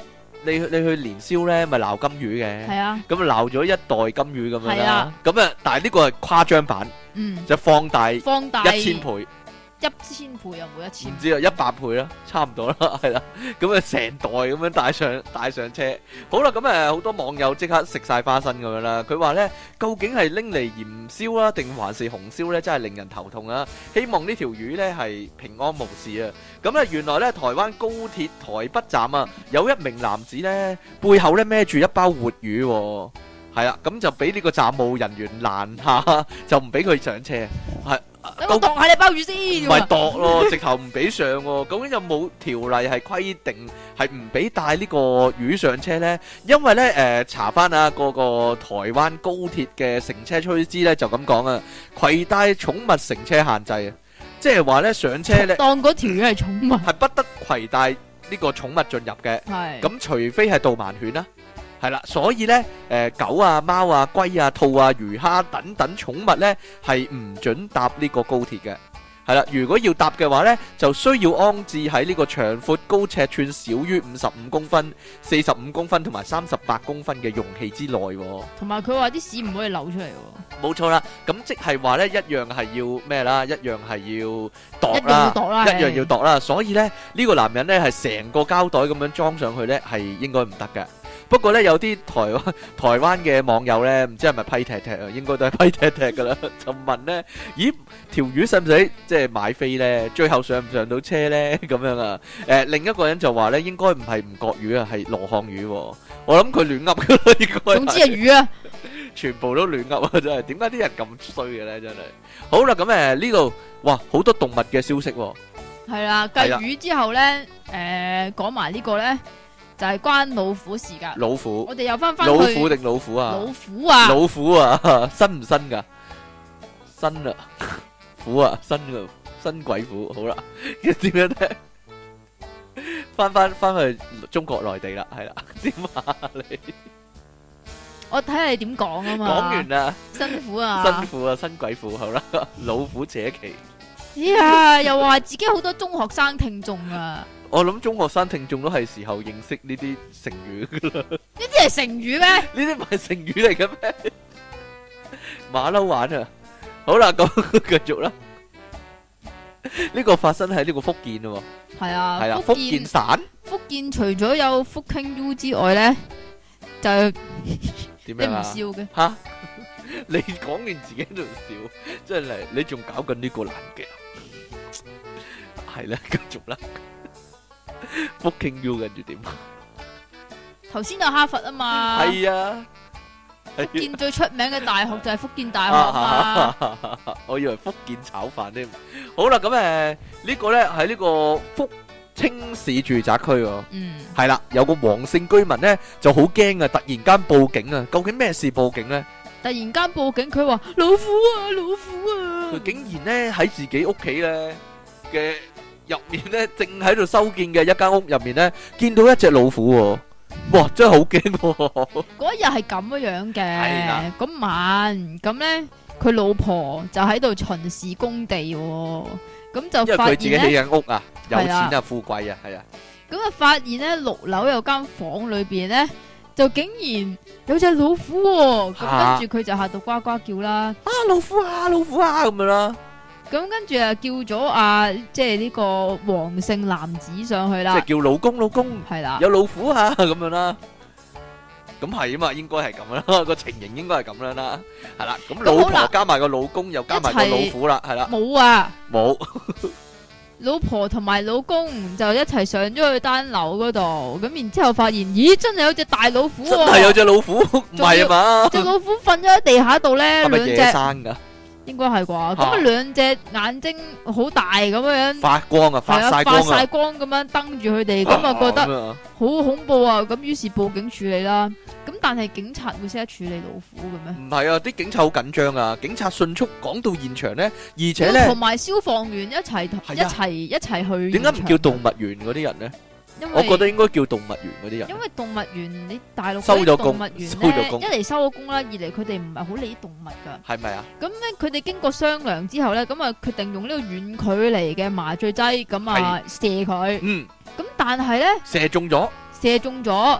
你你去年宵咧，咪鬧金魚嘅， 係啊， 咁啊鬧咗一袋金魚咁樣啦係啊， 咁啊，但係呢個係誇張版， 嗯， 就放大放大一千倍。 一千倍又冇一千唔，知啊，一百倍啦，差唔多啦，係啦，咁啊成袋咁樣帶上帶上車，好啦，咁誒好多網友即刻食晒花生咁樣啦。佢話咧，究竟係拎嚟鹽燒啦，定還是紅燒咧？真係令人頭痛啊！希望呢條魚咧係平安無事啊！咁咧原來咧台灣高鐵台北站啊，有一名男子咧背後咧孭住一包活魚喎，係啦，咁就俾呢個站務人員攔下，就唔俾佢上車，係。 等我度下你鮑魚先， 唔係度咯，直頭唔俾上喎。究竟有冇條例係規定係唔俾帶呢個魚上車呢？因為呢，誒查翻啊嗰個台灣高鐵嘅乘車須知呢，就咁講啊，攜帶寵物乘車限制啊，即係話呢，上車呢， 當嗰條魚係寵物， 係不得攜帶呢個寵物進入嘅。 係咁除非係導盲犬啦。係啦，所以咧，誒狗啊、貓啊、龜啊、兔啊、魚蝦等等寵物咧，係唔準搭呢個高鐵嘅。係啦，如果要搭嘅話咧，就需要安置喺呢個長闊高尺寸少於五十五公分、四十五公分同埋三十八公分嘅容器之內。 同埋佢話啲屎唔可以流出嚟喎。 冇錯啦，咁即係話咧，一樣係要咩啦？一樣係要度一樣要啦， 度啦， 一樣要度啦。所以咧，呢個男人咧係成個膠袋咁樣裝上去咧，係應該唔得嘅。不過咧，有啲台灣台灣嘅網友咧，唔知係咪批踢踢啊？應該都係批踢踢噶啦。就問咧，咦，條魚使唔使即係買飛咧？最後上唔上到車咧？咁樣啊？誒，另一個人就話咧，應該唔係吳國魚啊，係羅漢魚。我諗佢亂噏噶啦，應該。總之係魚啊，全部都亂噏啊！真係，點解啲人咁衰嘅咧？真係。好啦，咁誒呢度，哇，好多動物嘅消息。 係啦，繼魚之後咧，誒，講埋呢個咧。就係關老虎事噶， 老虎， 我哋又翻翻去老虎定老虎啊？ 老虎啊， 老虎啊，新唔新噶？新啊，虎啊，新噶，新鬼虎，好啦，點樣咧？翻翻翻去中國內地啦，係啦，點啊你？ 我睇下你點講啊嘛。講完啦， 辛苦啊， 辛苦啊，新鬼虎，好啦，老虎扯旗。 哎呀，又話自己好多中學生聽眾啊。 我諗中學生聽眾都係時候認識呢啲成語噶啦。 呢啲係成語咩？呢啲唔係成語嚟嘅咩？馬騮玩啊！好啦，咁繼續啦。呢個發生喺呢個福建咯。 係啊， 係啦，福建省。福建除咗有福傾 U 之外咧，就點樣啊？ 你唔笑嘅吓？你講完自己喺度笑，真係你仲搞緊呢個難嘅。係啦，繼續啦。福建 U 跟住點？ 頭先有哈佛啊嘛， 係啊， 福建最出名嘅大學就係福建大學啊嘛。 我以為福建炒飯添。好啦，咁誒呢個咧喺呢個福清市住宅區喎。嗯，係啦，有個黃姓居民咧就好驚啊，突然間報警啊，究竟咩事報警咧？ 突然間報警，佢話老虎啊，老虎啊！ 佢竟然咧喺自己屋企咧嘅入面咧，正喺度修建嘅一間屋入面咧，見到一隻老虎喎！哇，真係好驚！嗰日係咁樣嘅，嗰晚咁咧，佢老婆就喺度巡視工地，咁就發現咧，因為佢自己起緊屋啊，有錢啊，富貴啊，係啊，咁啊發現咧六樓有間房裏邊咧，就竟然有隻老虎，咁跟住佢就嚇到呱呱叫啦，啊老虎啊老虎啊咁樣啦。咁跟住啊，叫咗啊，即係呢個黃姓男子上去啦。即係叫老公，老公係啦，有老虎啊，咁樣啦。咁係啊嘛，應該係咁啦，個情形應該係咁樣啦。係啦，咁老婆加埋個老公，又加埋個老虎啦，係啦。冇啊，冇。老婆同埋老公就一齊上咗去單樓嗰度，咁然之後發現，咦，真係有隻大老虎。真係有隻老虎，唔係啊嘛？隻老虎瞓咗喺地下度咧，兩隻。係咪野生噶？應該係啩，咁啊兩隻眼睛好大咁樣，發光啊，發晒光啊，發晒光咁樣瞪住佢哋，咁啊覺得好恐怖啊，咁於是報警處理啦。咁但係警察會識得處理老虎嘅咩？唔係啊，啲警察好緊張啊，警察迅速趕到現場咧，而且咧同埋消防員一齊一齊一齊去。點解唔叫動物園嗰啲人咧？我覺得應該叫動物園嗰啲人，因為動物園你大陸收咗工，收咗工，一嚟收咗工啦，二嚟佢哋唔係好理啲動物噶，係咪啊？咁咧佢哋經過商量之後咧，咁啊決定用呢個遠距離嘅麻醉劑，咁啊射佢，嗯，咁但係咧射中咗，射中咗，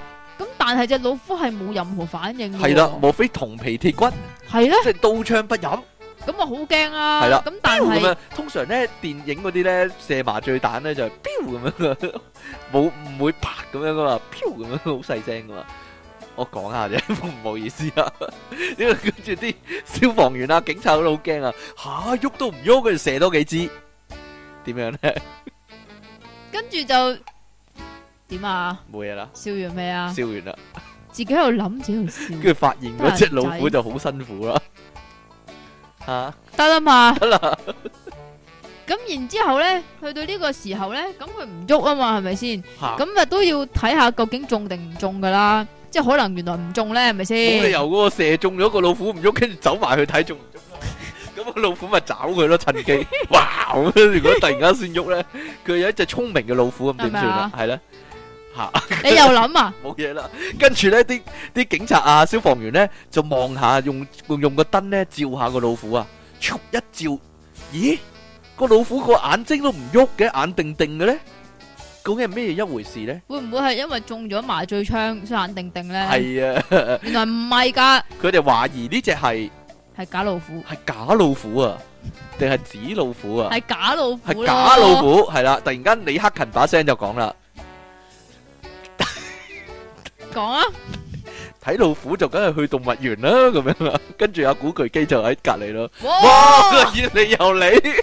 咁但係隻老虎係冇任何反應嘅喎。 係啦，莫非銅皮鐵骨， 係咧， 即係刀槍不入？ 咁啊好驚啊！ 係啦， 咁但係咁樣通常咧電影嗰啲咧射麻醉彈咧就係飆咁樣嘅，冇唔會啪咁樣噶嘛，飆咁樣好細聲噶嘛。我講下啫，唔好意思啊。因為跟住啲消防員啊、警察都好驚啊，吓喐都唔喐，佢就射多幾支，點樣咧？ 跟住就點啊？ 冇嘢啦， 笑完未啊？ 燒完啦， 自己喺度諗，自己喺度笑。 跟住發現嗰隻老虎就好辛苦啦。吓得啦嘛， 得啦。 咁然之後咧，去到呢個時候咧，咁佢唔喐啊嘛，係咪先？ 吓咁啊都要睇下究竟中定唔中噶啦，即係可能原來唔中咧，係咪先？ 冇理由嗰個射中咗個老虎唔喐，跟住走埋去睇中唔中啦。咁個老虎咪找佢咯，趁機。哇！如果突然間先喐咧，佢有一隻聰明嘅老虎咁點算啊？係咧。吓！ 你又諗啊？ 冇嘢啦，跟住咧啲啲警察啊、消防員咧就望下，用用用個燈咧照下個老虎啊，咻一照，咦？個老虎個眼睛都唔喐嘅，眼定定嘅咧，究竟係咩一回事咧？ 會唔會係因為中咗麻醉槍，所以眼定定咧？ 係啊， 原來唔係噶， 佢哋懷疑呢隻係係假老虎， 係假老虎啊，定係紙老虎啊？ 係假老虎， 係假老虎，係啦！突然間李克勤把聲就講啦。 講啊！ 睇老虎就梗係去動物園啦，咁樣啦。跟住阿古巨基就喺隔籬咯。 哇！ 哇！越嚟又嚟，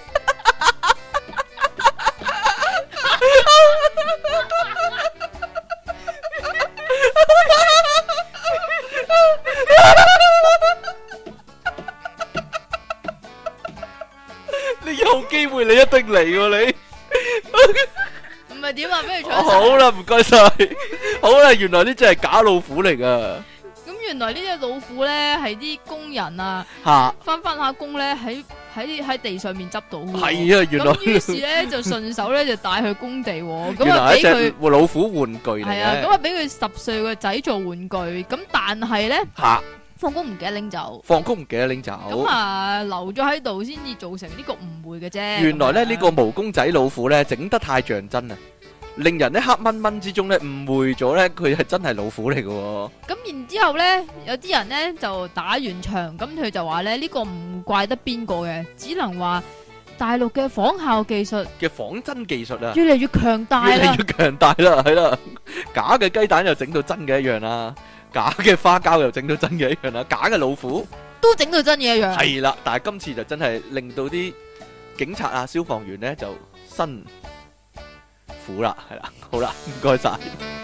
你有機會你一定嚟喎你。 唔係點啊？俾佢搶。 好啦，唔該晒。好啦，原來呢隻係假老虎嚟噶。 咁原來呢隻老虎咧係啲工人啊， 吓翻翻下工咧喺喺喺地上面執到嘅。 係啊，原來咁於是咧就順手咧就帶去工地，咁原來係一啊俾佢隻老虎玩具嚟係啊，咁嘅。 啊俾佢十歲個仔做玩具，咁但係咧吓放工唔記得拎走， 放工唔記得拎走。 咁啊留咗喺度先至造成呢個誤會嘅啫。 原來咧咁樣呢個毛公仔老虎咧整得太像真啊，令人咧黑蚊蚊之中咧誤會咗咧佢係真係老虎嚟嘅喎。 咁然之後咧，有啲人咧就打完場，咁佢就話咧呢個唔怪得邊個嘅，只能話大陸嘅仿效技術嘅仿真技術啊， 越嚟越強大啦越嚟。越強大啦，係啦，假嘅雞蛋又整到真嘅一樣啦，假嘅花膠又整到真嘅一樣啦，假嘅老虎都整到真嘢一樣。 係啦，但係今次就真係令到啲警察啊、消防員咧就辛苦啦，係啦，好啦，唔該晒。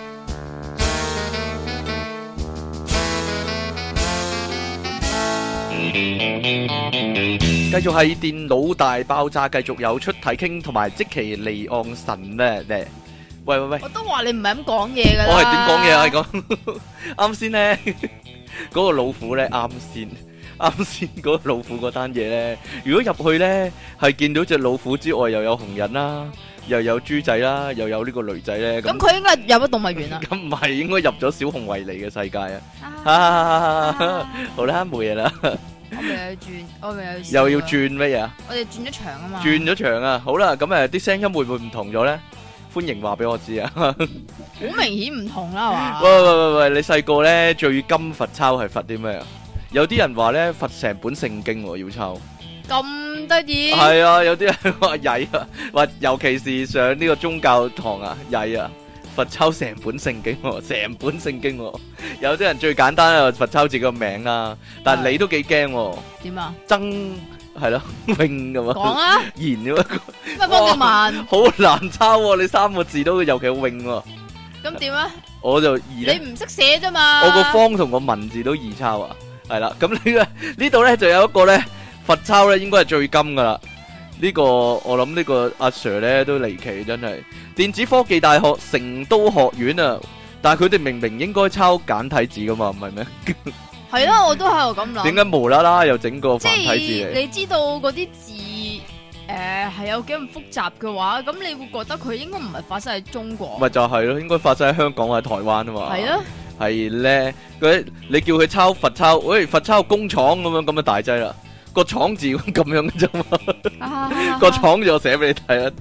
繼續係電腦大爆炸，繼續有出體傾同埋積淇離岸神咧咧。喂喂喂， 我都話你唔係咁講嘢噶啦。 我係點講嘢啊？係講啱先咧，嗰個老虎咧，啱先啱先嗰個老虎嗰單嘢咧，如果入去咧係見到隻老虎之外，又有紅人啦，又有豬仔啦，又有呢個女仔咧， 咁佢應該入咗動物園啦。 咁唔係應該入咗小熊維尼嘅世界啊？ 啊好啦，冇嘢啦。 我咪又要轉，我咪又要又要轉乜嘢啊？ 我哋轉咗場啊嘛。 轉咗場啊！好啦，咁誒啲聲音會唔會唔同咗咧？歡迎話俾我知啊！ 好明顯唔同啦，係嘛？ 喂喂喂喂，你細個咧最金罰抄係罰啲咩啊？有啲人話咧罰成本聖經喎，要抄。 咁得意。 係啊，有啲人話曳啊，話尤其是上呢個宗教堂啊，曳啊，罰抄成本聖經喎，成本聖經喎。有啲人最簡單啊，罰抄自己個名啦，但係你都幾驚喎。 點啊？ 曾係咯，永咁啊。 講啊！ 言咁啊， 咩幫你問？ 好難抄喎，你三個字都尤其好永喎。 咁點啊？ 我就易咧。 你唔識寫啫嘛？ 我個方同個文字都易抄啊，係啦。咁呢個呢度咧就有一個咧罰抄咧，應該係最金噶啦。呢個我諗呢個阿 Sir 咧都離奇，真係。電子科技大學成都學院啊，但係佢哋明明應該抄簡體字噶嘛，唔係咩？ 係咯，我都喺度咁諗。 點解無啦啦又整個繁體字嚟？ 即係你知道嗰啲字誒係有幾咁複雜嘅話，咁你會覺得佢應該唔係發生喺中國。 咪就係咯，應該發生喺香港或者台灣啊嘛。 係咯。 係咧，佢你叫佢抄罰抄，喂罰抄工廠咁樣咁就大劑啦。個廠字咁樣嘅啫嘛，個廠字我寫俾你睇啊。 一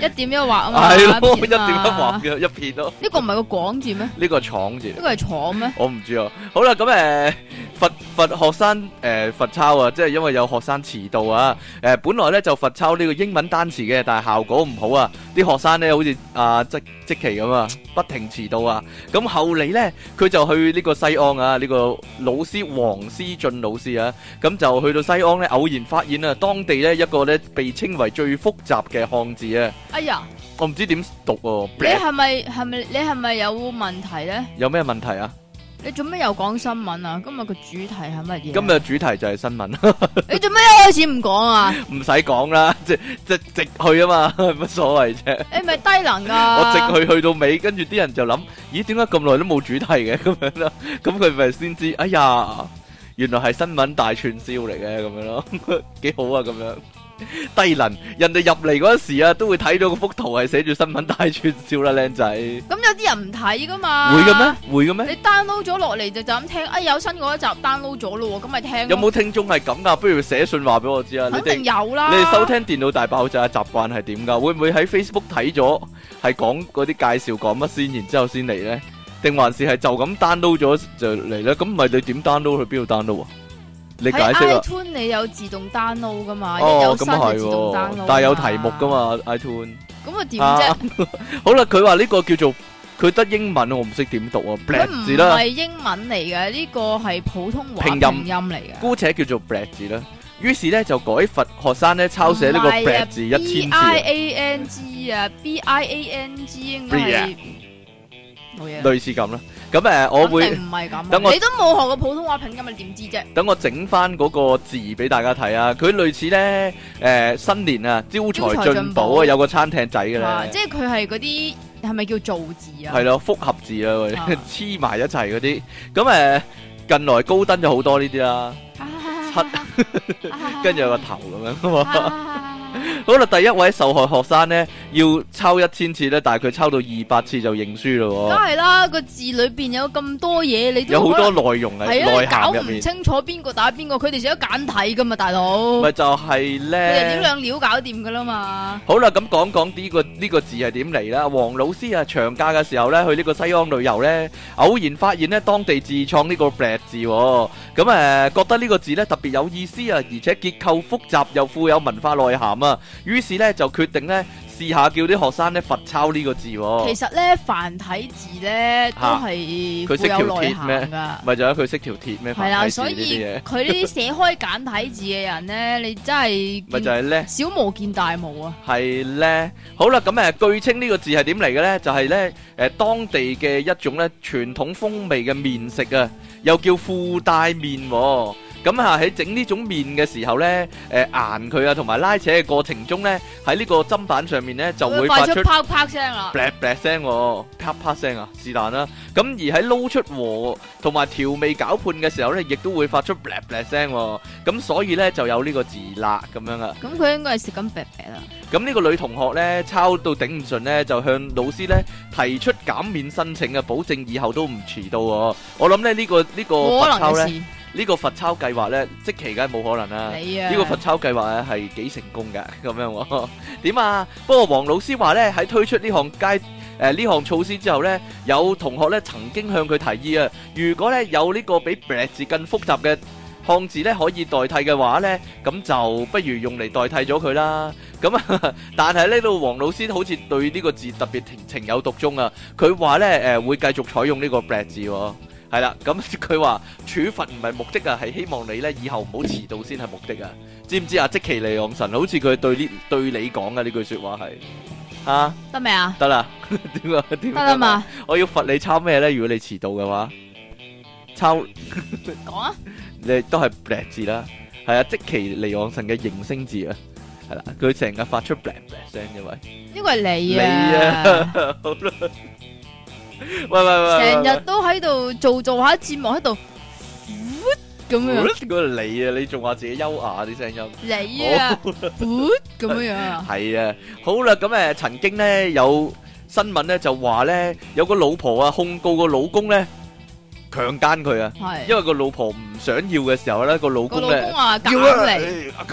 一點一畫啊嘛， 係咯，一點片啊一畫嘅一片咯。 呢個唔係個廣字咩？ 呢個廠字， 呢個係廠咩？ 我唔知啊。好啦，咁誒罰罰學生誒罰抄啊，即係因為有學生遲到啊。誒本來咧就罰抄呢個英文單詞嘅，但係效果唔好啊。啲學生咧好似阿即即奇咁啊，不停遲到啊。咁後嚟咧，佢就去呢個西安啊，呢個老師黃思俊老師啊，咁就去到西安咧，偶然發現啊，當地咧一個咧被稱為最複雜嘅漢字啊。 哎呀， 我唔知點讀喎。 你係咪係咪你係咪有問題咧？ 有咩問題啊？ 你做咩又講新聞啊？今日個主題係乜嘢？ 今日主題就係新聞。 你做咩一開始唔講啊？ 唔使講啦，即即直去啊嘛，乜所謂啫？ 你咪低能噶！ 我直去去到尾，跟住啲人就諗，咦，點解咁耐都冇主題嘅咁樣啦？咁佢咪先知，哎呀，原來係新聞大串燒嚟嘅咁樣咯，幾好啊咁樣。低能，人哋入嚟嗰時啊，都會睇到嗰幅圖係寫住新聞大串燒啦，靚仔。 咁有啲人唔睇噶嘛？ 會嘅咩？會嘅咩？ 你 download 咗落嚟就就咁聽，哎有新嗰一集 download 咗咯，咁咪聽。 有冇聽眾係咁噶？不如寫信話俾我知啊！ 肯定有啦。 你哋收聽電腦大爆炸嘅習慣係點噶？會唔會喺 Facebook 睇咗係講嗰啲介紹講乜先，然之後先嚟咧？定還是係就咁 download 咗就嚟咧？咁唔係你點 download 去邊度 download 啊？你解釋啊 iTunes 你有自動 download 噶嘛？ 哦， 一有新咁就自動係 download。 但係有題目噶嘛 iTunes。 咁啊點啫？ 好啦，佢話呢個叫做佢得英文，我唔識點讀啊。 佢 black 字啦， 唔係英文嚟嘅，呢個係普通話拼音拼音嚟嘅。 姑且叫做 black 字啦。於是咧就改罰學生咧抄寫呢個 black 字一千次。 B I A N G 啊 ，B I A N G 應該係冇嘢。 類似咁啦。咁誒，我會唔係咁。 等我你都冇學過普通話拼音，你點知啫？ 等我整翻嗰個字俾大家睇啊！佢類似咧誒新年啊，招財進寶啊，有個餐廳仔嘅咧。 即係佢係嗰啲係咪叫造字啊？ 係咯，複合字啊，黐埋一齊嗰啲。咁誒，近來高登咗好多呢啲啦，七跟住有個頭咁樣啊嘛。好啦，第一位受害學生咧要抄一千次咧，但係佢抄到二百次就認輸咯。 梗係啦，個字裏邊有咁多嘢，你都有好多內容喺內涵入面，搞唔清楚邊個打邊個，佢哋寫咗簡體噶嘛，大佬。 咪就係咧， 佢哋點兩料搞掂噶啦嘛。好啦，咁講講呢個呢個字係點嚟啦？黃老師啊，長假嘅時候咧去呢個西安旅遊咧，偶然發現咧當地自創呢個 black 字，咁誒覺得呢個字咧特別有意思啊，而且結構複雜又富有文化內涵啊。於是咧就決定咧試下叫啲學生咧罰抄呢個字。其實咧繁體字咧都係佢識條鐵咩？ 噶， 咪就係佢識條鐵咩？ 係啦，所以佢呢啲寫開簡體字嘅人咧，你真係咪就係咧小巫見大巫啊！ 係咧，好啦，咁誒據稱呢個字係點嚟嘅咧？就係咧誒當地嘅一種咧傳統風味嘅麵食啊，又叫褲帶麵。咁啊喺整呢種麵嘅時候咧，誒研佢啊同埋拉扯嘅過程中咧，喺呢個砧板上面咧就會發出啪啪聲啦， 啪啪聲，啪啪聲啊，是但啦。咁而喺撈出和同埋調味攪拌嘅時候咧，亦都會發出啪啪聲。咁所以咧就有呢個字啦，咁樣啊。 咁佢應該係食緊啪啪啦。 咁呢個女同學咧抄到頂唔順咧，就向老師咧提出減免申請啊，保證以後都唔遲到。我諗咧呢個呢個罰抄咧。呢個罰抄計劃咧，即期梗係冇可能啦。呢、啊、個罰抄計劃咧係幾成功㗎，咁樣喎。點啊？不過黃老師話咧，喺推出呢項階誒呢項措施之後咧，有同學咧曾經向佢提議啊，如果咧有呢個比 black 字更複雜嘅漢字咧可以代替嘅話咧，咁就不如用嚟代替咗佢啦。咁啊，但係呢度黃老師好似對呢個字特別情情有獨鍾啊。佢話咧誒會繼續採用呢個 black 字喎。係啦，咁佢話處罰唔係目的啊，係希望你咧以後唔好遲到先係目的啊，知唔知啊？積淇離岸神好似佢對呢對你講嘅呢句說話係啊， 得未啊？ 得啦，點啊？點得啦嘛？ 我要罰你抄咩咧？如果你遲到嘅話，抄講啊！ 你都係 black 字啦，係啊，積淇離岸神嘅形聲字啊，係啦，佢成日發出 black black 聲，因為呢個係你啊， 你啊，好啦。喂喂喂！ 成日都喺度做做下節目喺度，咁樣。 嗰個你啊，你仲話自己優雅啲聲音。 你啊，咁樣啊。 係啊，好啦，咁誒，曾經咧有新聞咧就話咧有個老婆啊控告個老公咧強姦佢啊，因為個老婆唔想要嘅時候咧個老公咧個老公話減你。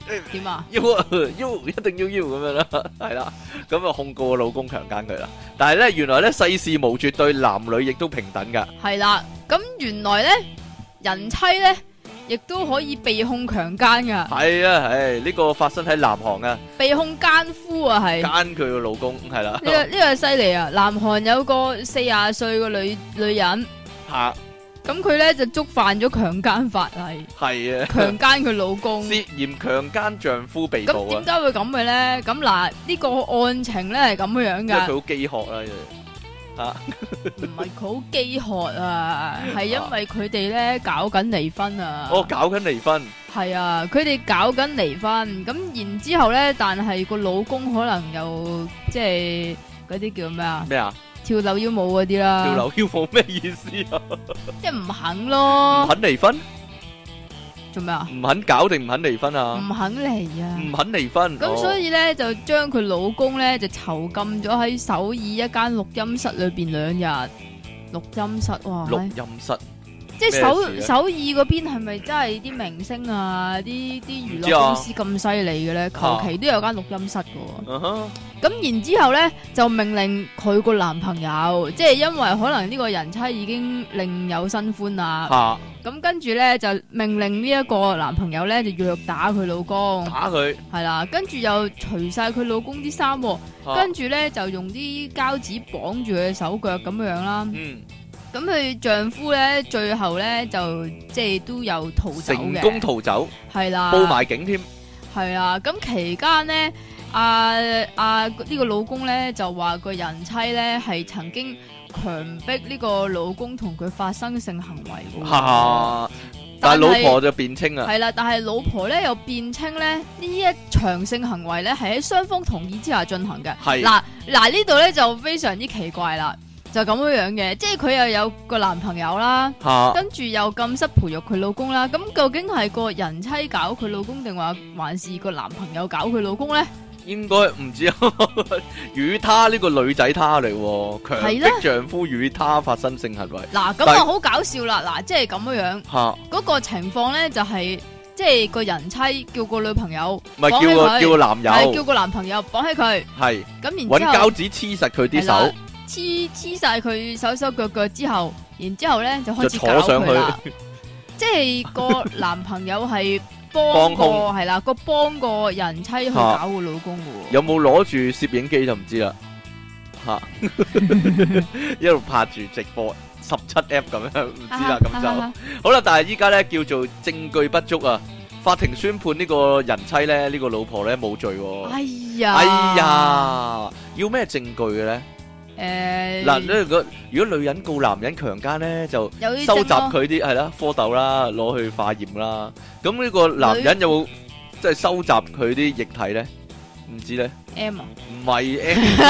點啊？ 要啊要一定要要咁樣啦，係啦，咁啊控告個老公強姦佢啦。但係咧，原來咧世事無絕對，男女亦都平等噶。 係啦，咁原來咧人妻咧亦都可以被控強姦噶。 係啊，唉，呢個發生喺南韓啊， 被控奸夫啊，係姦佢個老公係啦。 呢個呢個犀利啊！南韓有個四廿歲個女女人。 吓。 咁佢咧就觸犯咗強姦法例， 係啊， 強姦佢老公， 涉嫌強姦丈夫被捕啊！ 咁點解會咁嘅咧？咁嗱，呢個案情咧係咁樣樣因為佢噶， 好飢渴啦，吓唔係佢好飢渴啊，係因為佢哋咧搞緊離婚啊。 哦，搞緊離婚， 係啊，佢哋搞緊離婚，咁然之後咧，但係個老公可能又即係嗰啲叫咩啊？ 咩啊？ 跳樓腰舞嗰啲啦， 跳樓腰舞咩意思啊？ 即係唔肯咯， 唔肯離婚， 做咩啊？ 唔肯搞定唔肯離婚啊？ 唔肯離啊！ 唔肯離婚， 咁所以咧就將佢老公咧就囚禁咗喺首爾一間錄音室裏邊兩日。錄音室哇， 錄音室， 即係首咩事啊首爾嗰邊係咪真係啲明星啊、啲啲娛唔知啊樂公司咁犀利嘅咧？求其都有間錄音室嘅喎。 嗯哼， 咁然之後咧就命令佢個男朋友，即係因為可能呢個人妻已經另有新歡啦。 吓， 咁跟住咧就命令呢一個男朋友咧就虐打佢老公， 打佢， 係啦，跟住又除晒佢老公啲衫喎。 吓跟住咧就用啲膠紙綁住佢嘅手腳咁樣啦。 嗯， 咁佢丈夫咧最後咧就即係都有逃走成嘅， 功逃走， 係啦， 報埋警添， 係啊。咁期間咧，阿阿呢個老公咧就話個人妻咧係曾經強迫呢個老公同佢發生性行為嘅喎。 吓，但係老婆就辯稱啊， 係啦，但係老婆咧又辯稱咧呢一場性行為咧係喺雙方同意之下進行嘅。 係嗱嗱呢度咧就非常之奇怪啦，就咁樣樣嘅，即係佢又有個男朋友啦， 吓， 跟住又禁室培育佢老公啦，咁究竟係個人妻搞佢老公定話還是個男朋友搞佢老公咧？ 應該唔知啊，與他呢個女仔他嚟喎，強係咧迫丈夫與他發生性行為， 嗱咁但係啊好搞笑啦，嗱即係咁樣樣， 吓， 嗰個情況咧就係即係個人妻叫個女朋友唔係綁起佢叫個叫個男係叫友， 個男朋友綁起佢， 係咁搵然之後膠紙黐實佢啲係啦手， 黐黐晒佢手手腳腳之後，然之後咧就開就始搞坐上佢啦， 去， 即係個男朋友係幫幫個兇係啦，個幫個人妻去搞個老公嘅喎。 有冇攞住攝影機就唔知啦，吓，一路拍住直播十七 F 咁樣，唔知啦，咁就好啦。但係依家咧叫做證據不足啊，法庭宣判呢個人妻咧，呢個老婆咧冇罪喎。 哎呀， 哎呀，要咩證據嘅咧？ 誒嗱，如果如果女人告男人強姦咧，就有啲收集證咯佢啲係啦蝌蚪啦，攞去化驗啦。咁呢個男人有冇即係收集佢啲液體咧？唔知咧， M 啊， 唔係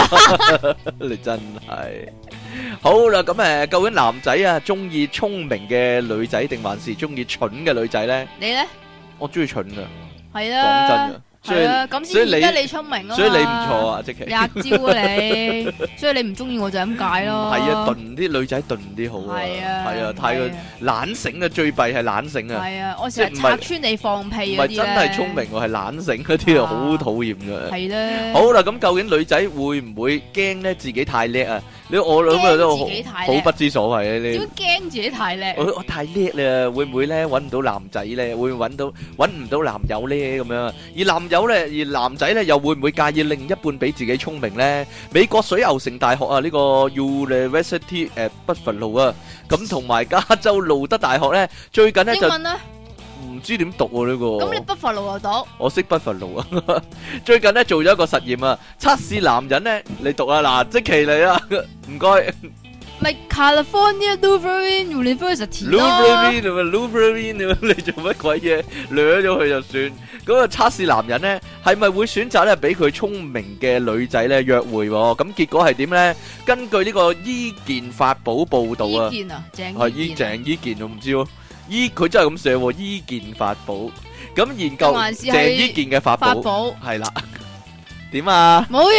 M，你真係好啦。咁誒，究竟男仔啊中意聰明嘅女仔定還是中意蠢嘅女仔咧？ 你咧我中意蠢噶， 係講真啦， 噶。所以係啊，咁所以你先顯得你聰明啊嘛， 所以你唔錯啊，即其你壓招啊你，所以你唔中意我就咁解咯。 係啊，鈍啲女仔鈍啲好啊， 係啊， 係啊，太過懶醒啊，最弊係懶醒啊， 係啊，我成日即係唔係拆穿你放屁唔嗰啲係真係聰明喎，係懶醒嗰啲啊， 啊好討厭嘅。 係咧。 好啦，咁究竟女仔會唔會驚咧自己太叻啊？你我諗啊都好驚自己太叻好不知所謂啊！ 點你驚自己太叻？ 我我太叻啦，會唔會咧揾唔到男仔咧？會唔會揾到揾唔到男友咧？咁樣而男友咧，而男仔咧又會唔會介意另一半比自己聰明咧？美國水牛城大學啊，呢個 University 誒北佛路啊，咁同埋加州路德大學咧，最近咧就英文咧， 唔知點讀喎呢個。 咁你北佛路又讀？ 我識北佛路啊！最近咧做咗一個實驗啊，測試男人咧，你讀啊嗱，即其嚟啊，唔該。 咪 California Lutheran University 咯。 Lutheran 啊 Lutheran 啊，你做乜鬼嘢？掠咗佢就算。咁啊，測試男人咧係咪會選擇咧比佢聰明嘅女仔咧約會？咁結果係點咧？根據呢個伊健法寶報導啊， 伊健啊，鄭係伊伊健啊鄭伊健我唔知喎，伊佢真係咁寫喎，伊健法寶。咁研究定還是係鄭伊健嘅法寶法寶係啦，點啊？ 冇嘢。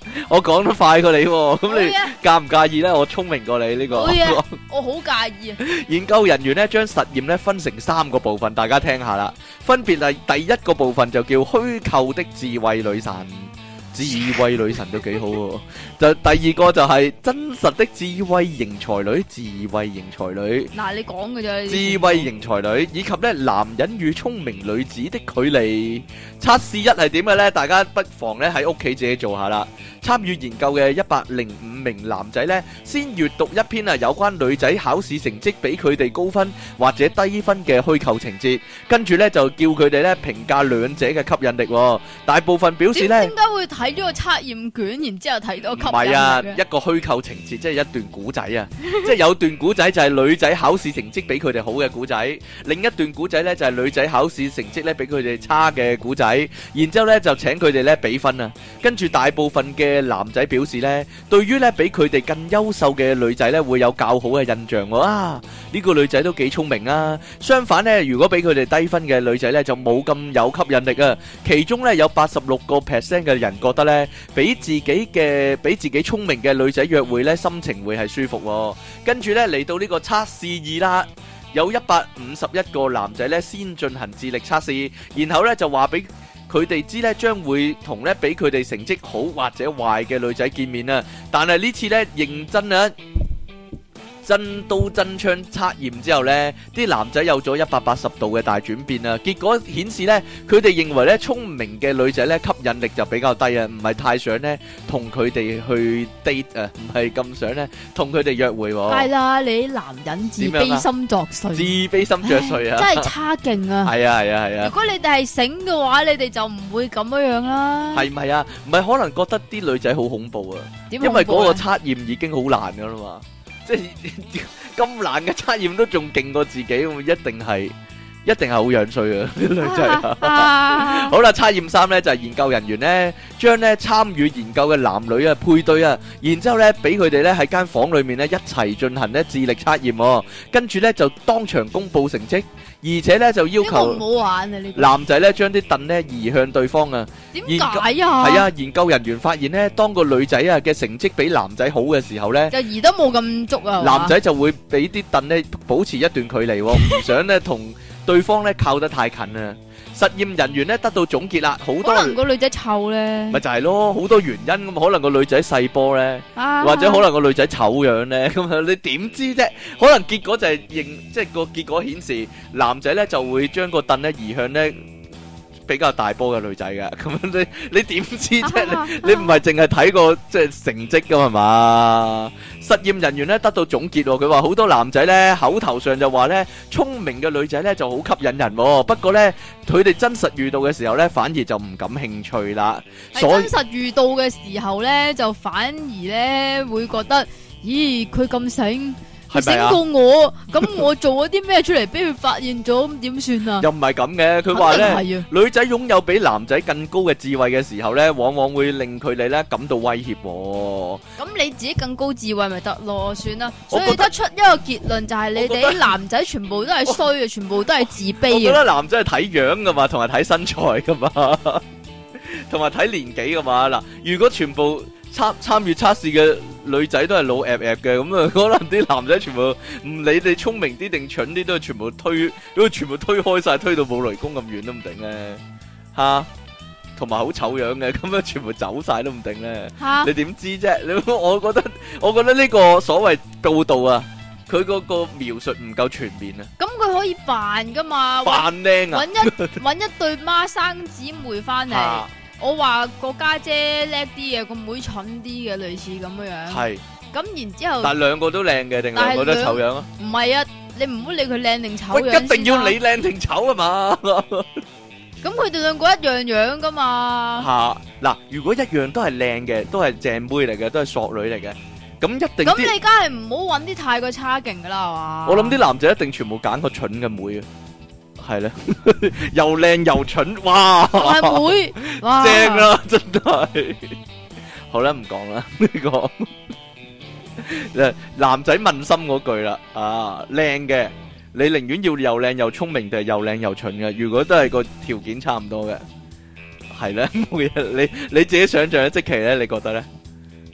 我講得快過你喎，咁你好嘢介唔介意咧？我聰明過你呢個。 好嘢我好介意啊！ 研究人員咧將實驗咧分成三個部分，大家聽下啦。分別係第一個部分就叫虛構的智慧女神。智慧女神都幾好喎，就第二個就係真實的智慧型才女，智慧型才女， 嗱，你講嘅啫。 智慧型才女，以及咧男人與聰明女子的距離。測試一係點嘅呢？大家不妨咧喺屋企自己做下啦。參與研究嘅一百零五名男仔呢，先閱讀一篇啊有關女仔考試成績比佢哋高分或者低分嘅虛構情節，跟住呢就叫佢哋咧評價兩者嘅吸引力喎。大部分表示呢， 點解會睇咗個測驗卷，然之後睇到唔吸引係啊， 力嘅一個虛構情節，即係一段古仔啊，即係有段古仔就係女仔考試成績比佢哋好嘅古仔，另一段古仔呢就係女仔考試成績咧比佢哋差嘅古仔，然之後咧就請佢哋咧比分啊，跟住大部分嘅男仔表示咧，對於咧比佢哋更優秀嘅女仔咧會有較好嘅印象喎。啊，呢個女仔都幾聰明啊。相反咧，如果比佢哋低分嘅女仔咧就冇咁有吸引力啊。其中咧有八十六個 percent 嘅人覺得咧，比自己嘅比自己聰明嘅女仔約會咧心情會係舒服喎。跟住咧嚟到呢個測試二啦。有一百五十一個男仔咧先進行智力測試，然後咧就話俾佢哋知咧將會同咧比佢哋成績好或者壞嘅女仔見面啊！但係呢次咧認真啊！真刀真槍測驗之後呢，啲男仔有咗一百八十度嘅大轉變啊！結果顯示呢，佢哋認為呢聰明嘅女仔呢吸引力就比較低啊，唔係太想呢同佢哋去 date 啊，唔係咁想呢同佢哋約會喎。 係啦，你啲男人自卑心作祟， 自卑心作祟啊！ 真係差勁啊！ 係啊係啊係啊！ 如果你哋係醒嘅話，你哋就唔會咁樣樣啦。 係唔係啊？唔係可能覺得啲女仔好恐怖啊？ 點恐怖啊？ 因為嗰個測驗已經好難噶啦嘛。即係咁難嘅測驗都仲勁過自己，一定係一定係好樣衰啊！女仔啊，好啦，測驗三咧就係研究人員咧將咧參與研究嘅男女啊配對啊，然之後咧俾佢哋咧喺間房裏面咧一齊進行咧智力測驗，跟住咧就當場公佈成績，而且咧就要求唔好玩啊！呢個男仔咧將啲凳咧移向對方啊。 點解啊？ 係啊，研究人員發現咧，當個女仔啊嘅成績比男仔好嘅時候咧， 就移得冇咁足啊。 男仔就會俾啲凳咧保持一段距離，唔想咧同對方咧靠得太近啊。實驗人員咧得到總結啦，好多可能個女仔臭咧， 咪就係咯，好多原因咁，可能個女仔細波咧， 啊、 或者可能個女仔醜樣咧，咁啊你點知啫？可能結果就係認，即係個結果顯示男仔咧就會將個凳咧移向咧比較大波嘅女仔嘅，咁樣你你點知啫？你你唔係淨係睇個即係成績噶嘛？實驗人員咧得到總結，佢話好多男仔咧口頭上就話咧聰明嘅女仔咧就好吸引人，不過咧佢哋真實遇到嘅時候咧反而就唔感興趣啦。 所以真實遇到嘅時候咧就反而咧會覺得，咦佢咁醒。醒過我，咁我做咗啲咩出嚟，俾佢發現咗，咁點算啊？ 又唔係咁嘅，佢話咧，女仔擁有比男仔更高嘅智慧嘅時候咧，往往會令佢哋咧感到威脅。 咁你自己更高智慧咪得咯？算啦，所以得出一個結論就係你哋啲男仔全部都係衰嘅，全部都係自卑嘅。我覺得男仔係睇樣噶嘛，同埋睇身材噶嘛，同埋睇年紀噶嘛。嗱，如果全部參參與測試嘅女仔都係老鴨鴨嘅，咁啊可能啲男仔全部唔理你聰明啲定蠢啲，都係全部推，都全部推開晒，推到冇雷公咁遠都唔定咧，吓，同埋好醜樣嘅，咁樣全部走晒都唔定咧，你點知啫？你我覺得，我覺得呢個所謂報道啊，佢嗰個描述唔夠全面啊。 咁佢可以扮噶嘛？ 扮靚啊！ 搵一搵一對孖生姊妹翻嚟。我話個家姐叻啲嘅，個妹蠢啲嘅，類似咁樣樣。係。咁然之後，但係兩個都靚嘅，定兩個都醜樣啊？唔係啊，你唔好理佢靚定醜樣先。一定要你靚定醜啊嘛？咁佢哋兩個一樣樣噶嘛？吓，嗱，如果一樣都係靚嘅，都係正妹嚟嘅，都係索女嚟嘅，咁一定。咁你梗係唔好揾啲太過差勁噶啦，係嘛？我諗啲男仔一定全部揀個蠢嘅妹啊！係咧，又靚又蠢，哇！大妹，哇，正啦，真係。好啦，唔講啦呢個。誒，男仔問心嗰句啦，啊，靚嘅，你寧願要又靚又聰明定係又靚又蠢嘅？如果都係個條件差唔多嘅，係咧，冇嘢。你你自己想象咧，即期咧，你覺得咧？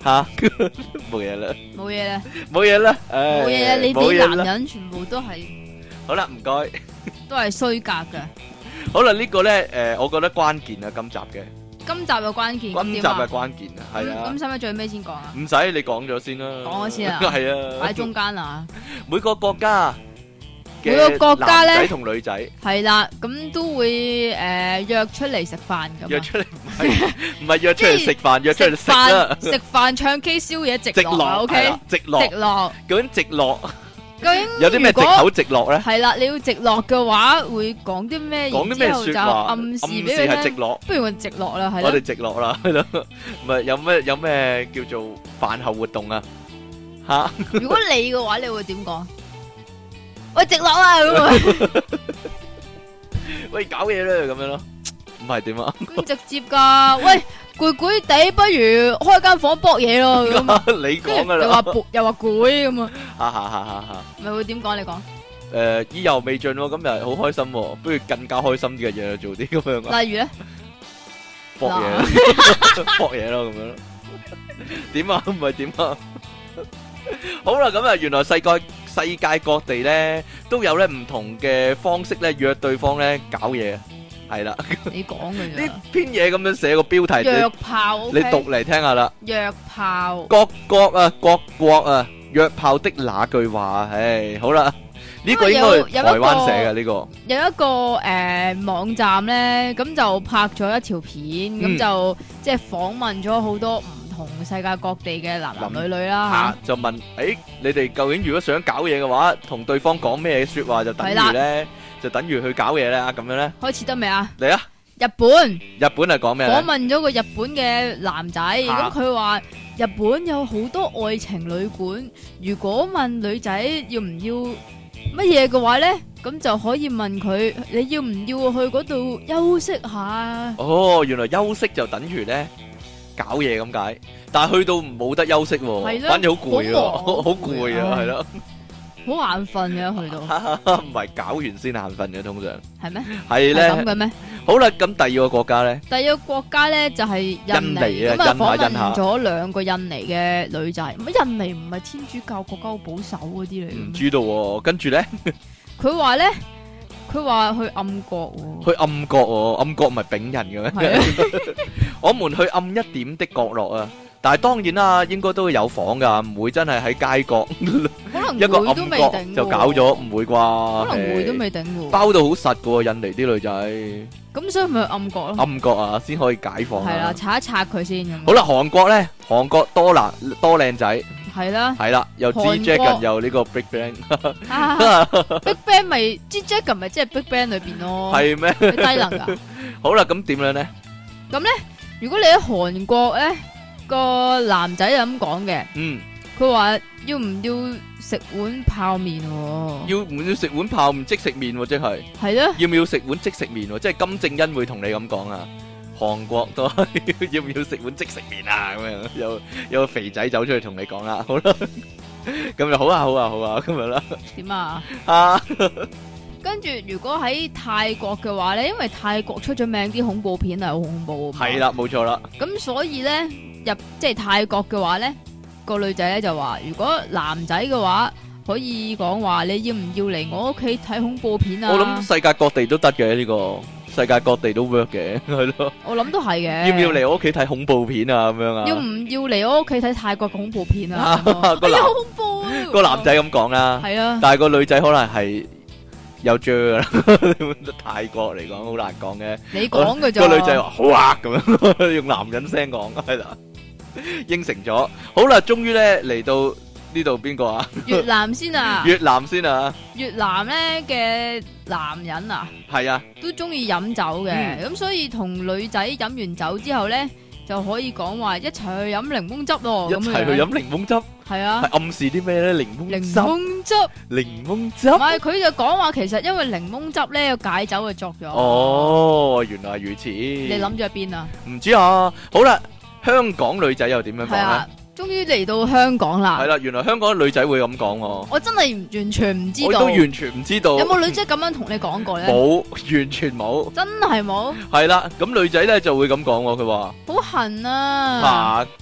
吓，冇嘢啦， 冇嘢啦， 冇嘢啦，誒， 冇嘢啊！你哋冇嘢啦男人全部都係好啦，唔該。 都係衰格嘅。 好啦，呢個咧，誒，我覺得關鍵啊，今集嘅， 今集嘅關鍵， 今集嘅關鍵啊，係啊咁，使唔使最尾先講啊？ 唔使你講咗先啦， 講咗先啊係啊， 擺中間啊， 每個國家嘅每個國家咧男仔同女仔係啦，咁都會誒約出嚟食飯咁啊。 約出嚟唔係唔係約出嚟食飯，約出嚟食飯啦， 食飯唱 K 宵夜直直落啊落 ，OK， 係啦直落直落。 究竟直落究竟有啲咩藉如果口直落咧？ 係啦，你要直落嘅話，會講啲咩？ 講啲咩然之後就說話？ 暗示暗俾佢聽。 示係直落， 不如我直落啦，係我哋啦。 直落啦，係咯，唔係有咩有咩叫做飯後活動啊？吓， 如果你嘅話，你會點講？喂，直落啊咁啊， 喂，搞嘢啦咁樣咯，唔係點啊？ 咁直接噶。喂，攰攰地，不如開間房搏嘢咯咁啊。 你講噶啦， 又話攰，又話攰咁啊， 哈哈哈哈哈！ 咪會點講？你講。 誒，意猶未盡喎，今日好開心喎，不如更加開心啲嘅嘢做啲咁樣啊， 例如咧， 搏嘢咯，搏嘢咯咁樣咯，點啊？唔係點啊？好啦，咁啊，原來世界世界各地咧都有咧唔同嘅方式咧約對方咧搞嘢，係啦。 你講嘅呢啫。 篇嘢咁樣寫個標題， 約你炮你 ，OK？ 讀嚟聽下啦。 約炮。 各國啊，各國啊，約炮的那句話，唉，好啦，呢個應該係台灣寫嘅呢個。 有一個誒網站咧，咁就拍咗一條片，咁就即係訪問咗好多唔同世界各地嘅男男女女啦吓，就問誒，你哋究竟如果想搞嘢嘅話，同對方講咩說話就等於咧，就等於去搞嘢咧，咁樣咧， 吓，開始得未啊？ 嚟啊！ 日本日本係講咩咧？ 訪問咗個日本嘅男仔，咁佢話日本有好多愛情旅館，如果問女仔要唔要乜嘢嘅話咧，咁就可以問佢你要唔要去嗰度休息下？ 哦，原來休息就等於咧搞嘢咁解，但係去到冇得休息喎， 係咯反而好攰啊， 好忙好好攰啊，係咯， 好眼瞓嘅去到， 唔係搞完先眼瞓嘅，通常係咩？ 係係咁咧。 嘅咩？ 好啦，咁第二個國家咧， 第二個國家咧就係印印尼尼， 啊咁啊訪印下印下問咗兩個印尼嘅女仔。咁印尼唔係天主教國家好保守嗰啲嚟嘅咩？ 唔知道喎，跟住咧佢話咧，佢話去暗角喎。 去暗角喎，暗角唔係丙人嘅咩？ 係啊， 我們去暗一點的角落啊！但係當然啦，應該都會有房噶，唔會真係喺街角可能一個會都暗角未定就搞咗，唔會啩？ 可能會都誒未定喎。 包到好實噶喎，印尼啲女仔咁所以咪去暗角咯。 暗角啊，先可以解放係啦， 啊！ 拆一拆佢先咁。 好啦，韓國咧，韓國多男多靚仔， 係啦係啦，又 G 韓國 Dragon 又呢個 Big Bang， 啊，Big Bang 咪 G Dragon 咪即係 Big Bang 裏邊咯。 係咩？ 佢低能噶。 好啦，咁點樣咧？ 如果你喺韓國咧，個男仔就咁講嘅。 嗯， 佢話要唔要食碗泡麵喎？ 要唔要食碗泡唔即食麵喎？即係係咯， 要唔要食碗即食麵喎？即係金正恩會同你咁講啊！韓國都係要唔要食碗即食麵啊？咁樣有有個肥仔走出去同你講啦，好啦，咁就好啊，好啊，好啊，咁樣啦。 點啊？ 啊， 跟住如果喺泰國嘅話咧，因為泰國出咗名啲恐怖片係好恐怖啊嘛。 係啦，冇錯啦。 咁所以咧入即係泰國嘅話咧，個女仔咧就話，如果男仔嘅話可以講話，你要唔要嚟我屋企睇恐怖片啊？ 我諗世界各地都得嘅呢個，世界各地都 work 嘅，係咯。 我諗都係嘅。 要唔要嚟我屋企睇恐怖片啊？咁樣啊？ 要唔要嚟我屋企睇泰國嘅恐怖片啊？ 個哎呀， 男好恐怖啊！ 個男仔咁講啦， 係啊， 但係個女仔可能係有啫啦。泰國嚟講好難講嘅。 你講嘅咋？ 個女仔話好啊，咁樣用男人聲講，係啦，應承咗。好啦，終於咧嚟到呢度邊個啊？ 越南先啊！ 越南先啊， 越南咧嘅男人啊， 係啊， 都中意飲酒嘅，咁、 嗯、 所以同女仔飲完酒之後咧，就可以講話一齊去飲檸檬汁咯。 一齊去飲檸檬汁， 係啊， 係暗示啲咩咧？檸檬檸汁， 檬汁， 檸檬汁。 唔係佢就講話，其實因為檸檬汁咧有解酒嘅作用。 哦，原來如此。 你諗咗喺邊啊？ 唔知啊。好啦，香港女仔又點樣講咧？ 終於嚟到香港啦！ 係啦，原來香港女仔會咁講喎。 我真係完全唔知道。 我都完全唔知道。 有冇女仔咁樣同你講過咧？ 冇，完全冇。 真係冇。 係啦，咁女仔咧就會咁講喎，佢話好痕啊！ 啊，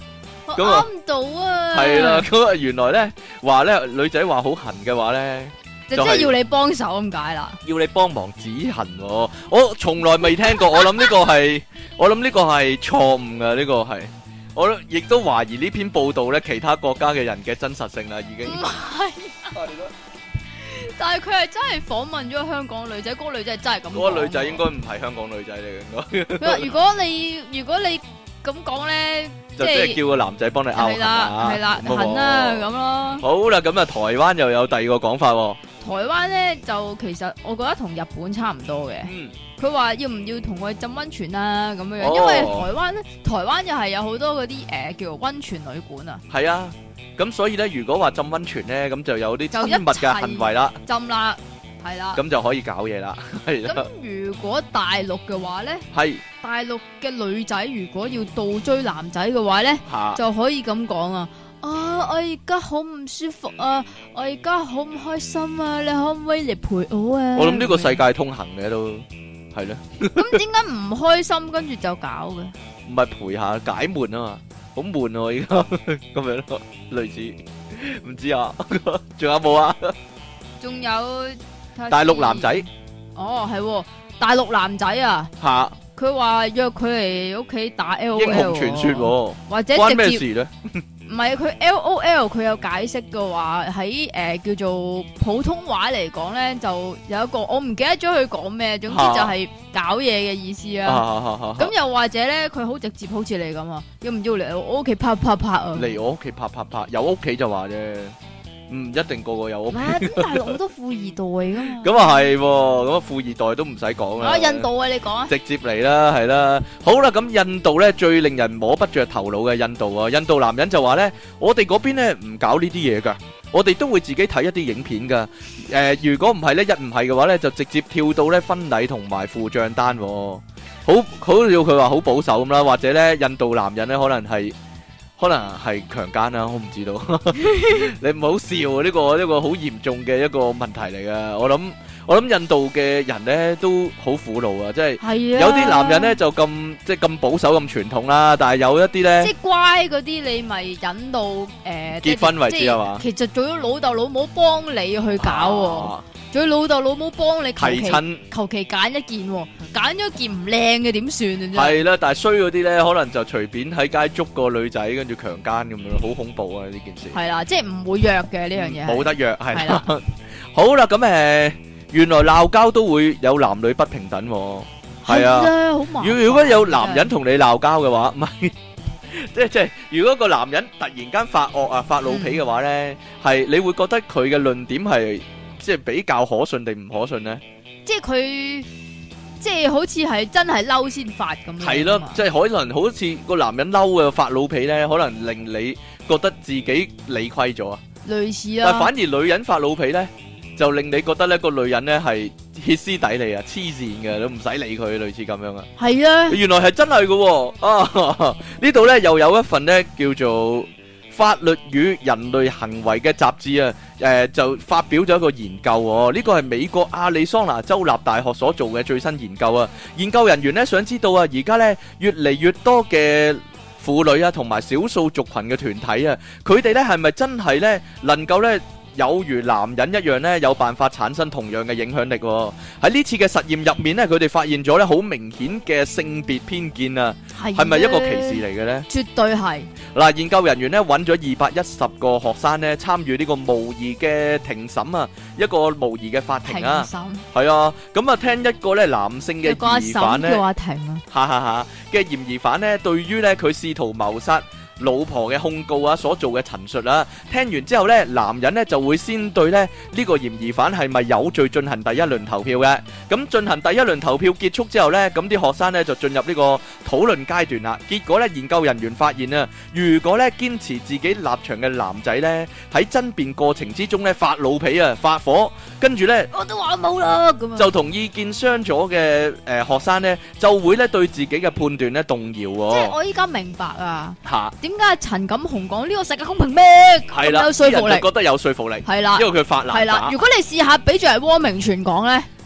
咁啊啱到啊！ 係啦，咁啊原來咧話咧女仔話好痕嘅話咧， 就即係要你幫手咁解啦。 要你幫忙止痕喎，我從來未聽過，我諗呢個係我諗呢個係錯誤噶，呢個係我亦都懷疑呢篇報道咧其他國家嘅人嘅真實性啦，已經唔係，但係佢係真係訪問咗香港女仔，嗰個女仔係真係咁講。 嗰個女仔應該唔係香港女仔嚟嘅，應該。 佢話如果你如果你咁講咧， 就即係叫個男仔幫你拗痕係啦啊， 係啦咁啊痕啦咁咯。 好啦，咁啊台灣又有第二個講法喎。 台灣咧就其實我覺得同日本差唔多嘅。 嗯。 佢話要唔要同佢浸溫泉啊咁樣樣， 哦因為台灣咧，台灣又係有好多嗰啲誒叫做溫泉旅館啊。 係啊，咁所以咧，如果話浸溫泉咧，咁就有啲親就一密嘅行為啦， 浸啦，係啦。 咁就可以搞嘢啦，係啦。 咁如果大陸嘅話咧， 係大陸嘅女仔如果要倒追男仔嘅話咧， 嚇， 就可以咁講啊！啊，我而家好唔舒服啊，我而家好唔開心啊，你可唔可以嚟陪我啊？ 我諗呢個世界通行嘅都係咧， 咁點解唔開心跟住就搞嘅？ 唔係陪下解悶啊嘛，好悶喎而家咁樣咯，類似唔知啊，仲有冇啊？ 仲有大陸男仔哦，係喎大陸男仔啊， 嚇， 佢話約佢嚟屋企打 L O L， 英雄傳說喎， 或者關咩直接事咧？ 唔係佢 L O L，佢有解釋嘅話喺誒叫做普通話嚟講咧，就有一個我唔記得咗佢講咩，總之就係搞嘢嘅意思啊。咁又或者咧，佢好直接，好似你咁啊，要唔要嚟我屋企拍拍拍啊？ 嚟我屋企拍拍拍，有屋企就話啫。唔一定個個有屋企， 咁大陸好多富二代噶嘛。 咁啊係，咁啊富二代都唔使講啦。 啊，印度啊，你講啊。 直接嚟啦，係啦。好啦，咁印度咧最令人摸不着頭腦嘅印度啊，印度男人就話咧，我哋嗰邊咧唔搞呢啲嘢噶，我哋都會自己睇一啲影片噶。誒，如果唔係咧，一唔係嘅話咧，就直接跳到咧婚禮同埋付賬單。好好要佢話好保守咁啦，或者咧印度男人咧可能係。可能係強姦啦，我唔知道。你唔好笑啊！呢個呢個好嚴重嘅一個問題嚟噶。我諗我諗印度嘅人咧都好苦惱啊，即係有啲男人咧就咁即係咁保守咁傳統啦，但係有一啲咧即係乖嗰啲，你咪引到誒結婚為止係嘛？ 其實做咗老豆老母幫你去搞。仲要老豆老母幫你求其求其揀一件，揀咗件唔靚嘅點算啊？真係啦，但係衰嗰啲咧，可能就隨便喺街捉個女仔，跟住強姦咁樣，好恐怖啊！呢件事係啦，即係唔會約嘅呢樣嘢， 冇得約係啦。好啦，咁誒，原來鬧交都會有男女不平等，係啊。如如果有男人同你鬧交嘅話，唔係即係即係，如果個男人突然間發惡啊、發老脾嘅話咧，係你會覺得佢嘅論點係？即係比較可信定唔可信咧？ 即係佢，即係好似係真係嬲先發咁樣。 係咯，即係可能好似個男人嬲嘅發老脾咧，可能令你覺得自己理虧咗啊。 類似啊。 但反而女人發老脾咧，就令你覺得咧個女人咧係歇斯底里啊、黐線嘅，都唔使理佢，類似咁樣啊。係啊，原來係真係嘅啊！呢度咧又有一份咧叫做法律與人類行為嘅雜誌啊，誒、呃、就發表咗一個研究喎，呢個係美國亞利桑那州立大學所做嘅最新研究啊。研究人員咧想知道啊，而家咧越嚟越多嘅婦女啊，同埋少數族群嘅團體啊，佢哋咧係咪真係咧能夠咧有如男人一樣咧，有辦法產生同樣嘅影響力喎？喺呢次嘅實驗入面咧，佢哋發現咗咧好明顯嘅性別偏見啊，係咪一個歧視嚟嘅咧？絕對係。嗱，研究人員咧揾咗二百一十個學生咧參與呢個模擬嘅庭審啊，一個模擬嘅法庭啊，係啊，咁啊聽一個咧男性嘅疑犯咧，叫阿庭啊，哈哈哈嘅嫌疑犯咧，對於咧佢試圖謀殺老婆嘅控告啊，所做嘅陳述啊，聽完之後呢，男人呢就會先對咧呢個嫌疑犯係咪有罪進行第一輪投票嘅。咁進行第一輪投票結束之後呢，咁啲學生呢就進入呢個討論階段啦。結果呢，研究人員發現啊，如果呢堅持自己立場嘅男仔呢，喺爭辯過程之中呢發老脾啊、發火，跟住呢我都話冇啦，咁就同意見相左嘅誒學生呢，就會呢對自己嘅判斷呢動搖喎。即係我依家明白啊嚇。點解陳錦鴻講呢個世界公平咩？咁有說服力，覺得有說服力，係啦，因為佢發爛渣。係啦，如果你試下俾住係汪明荃講咧，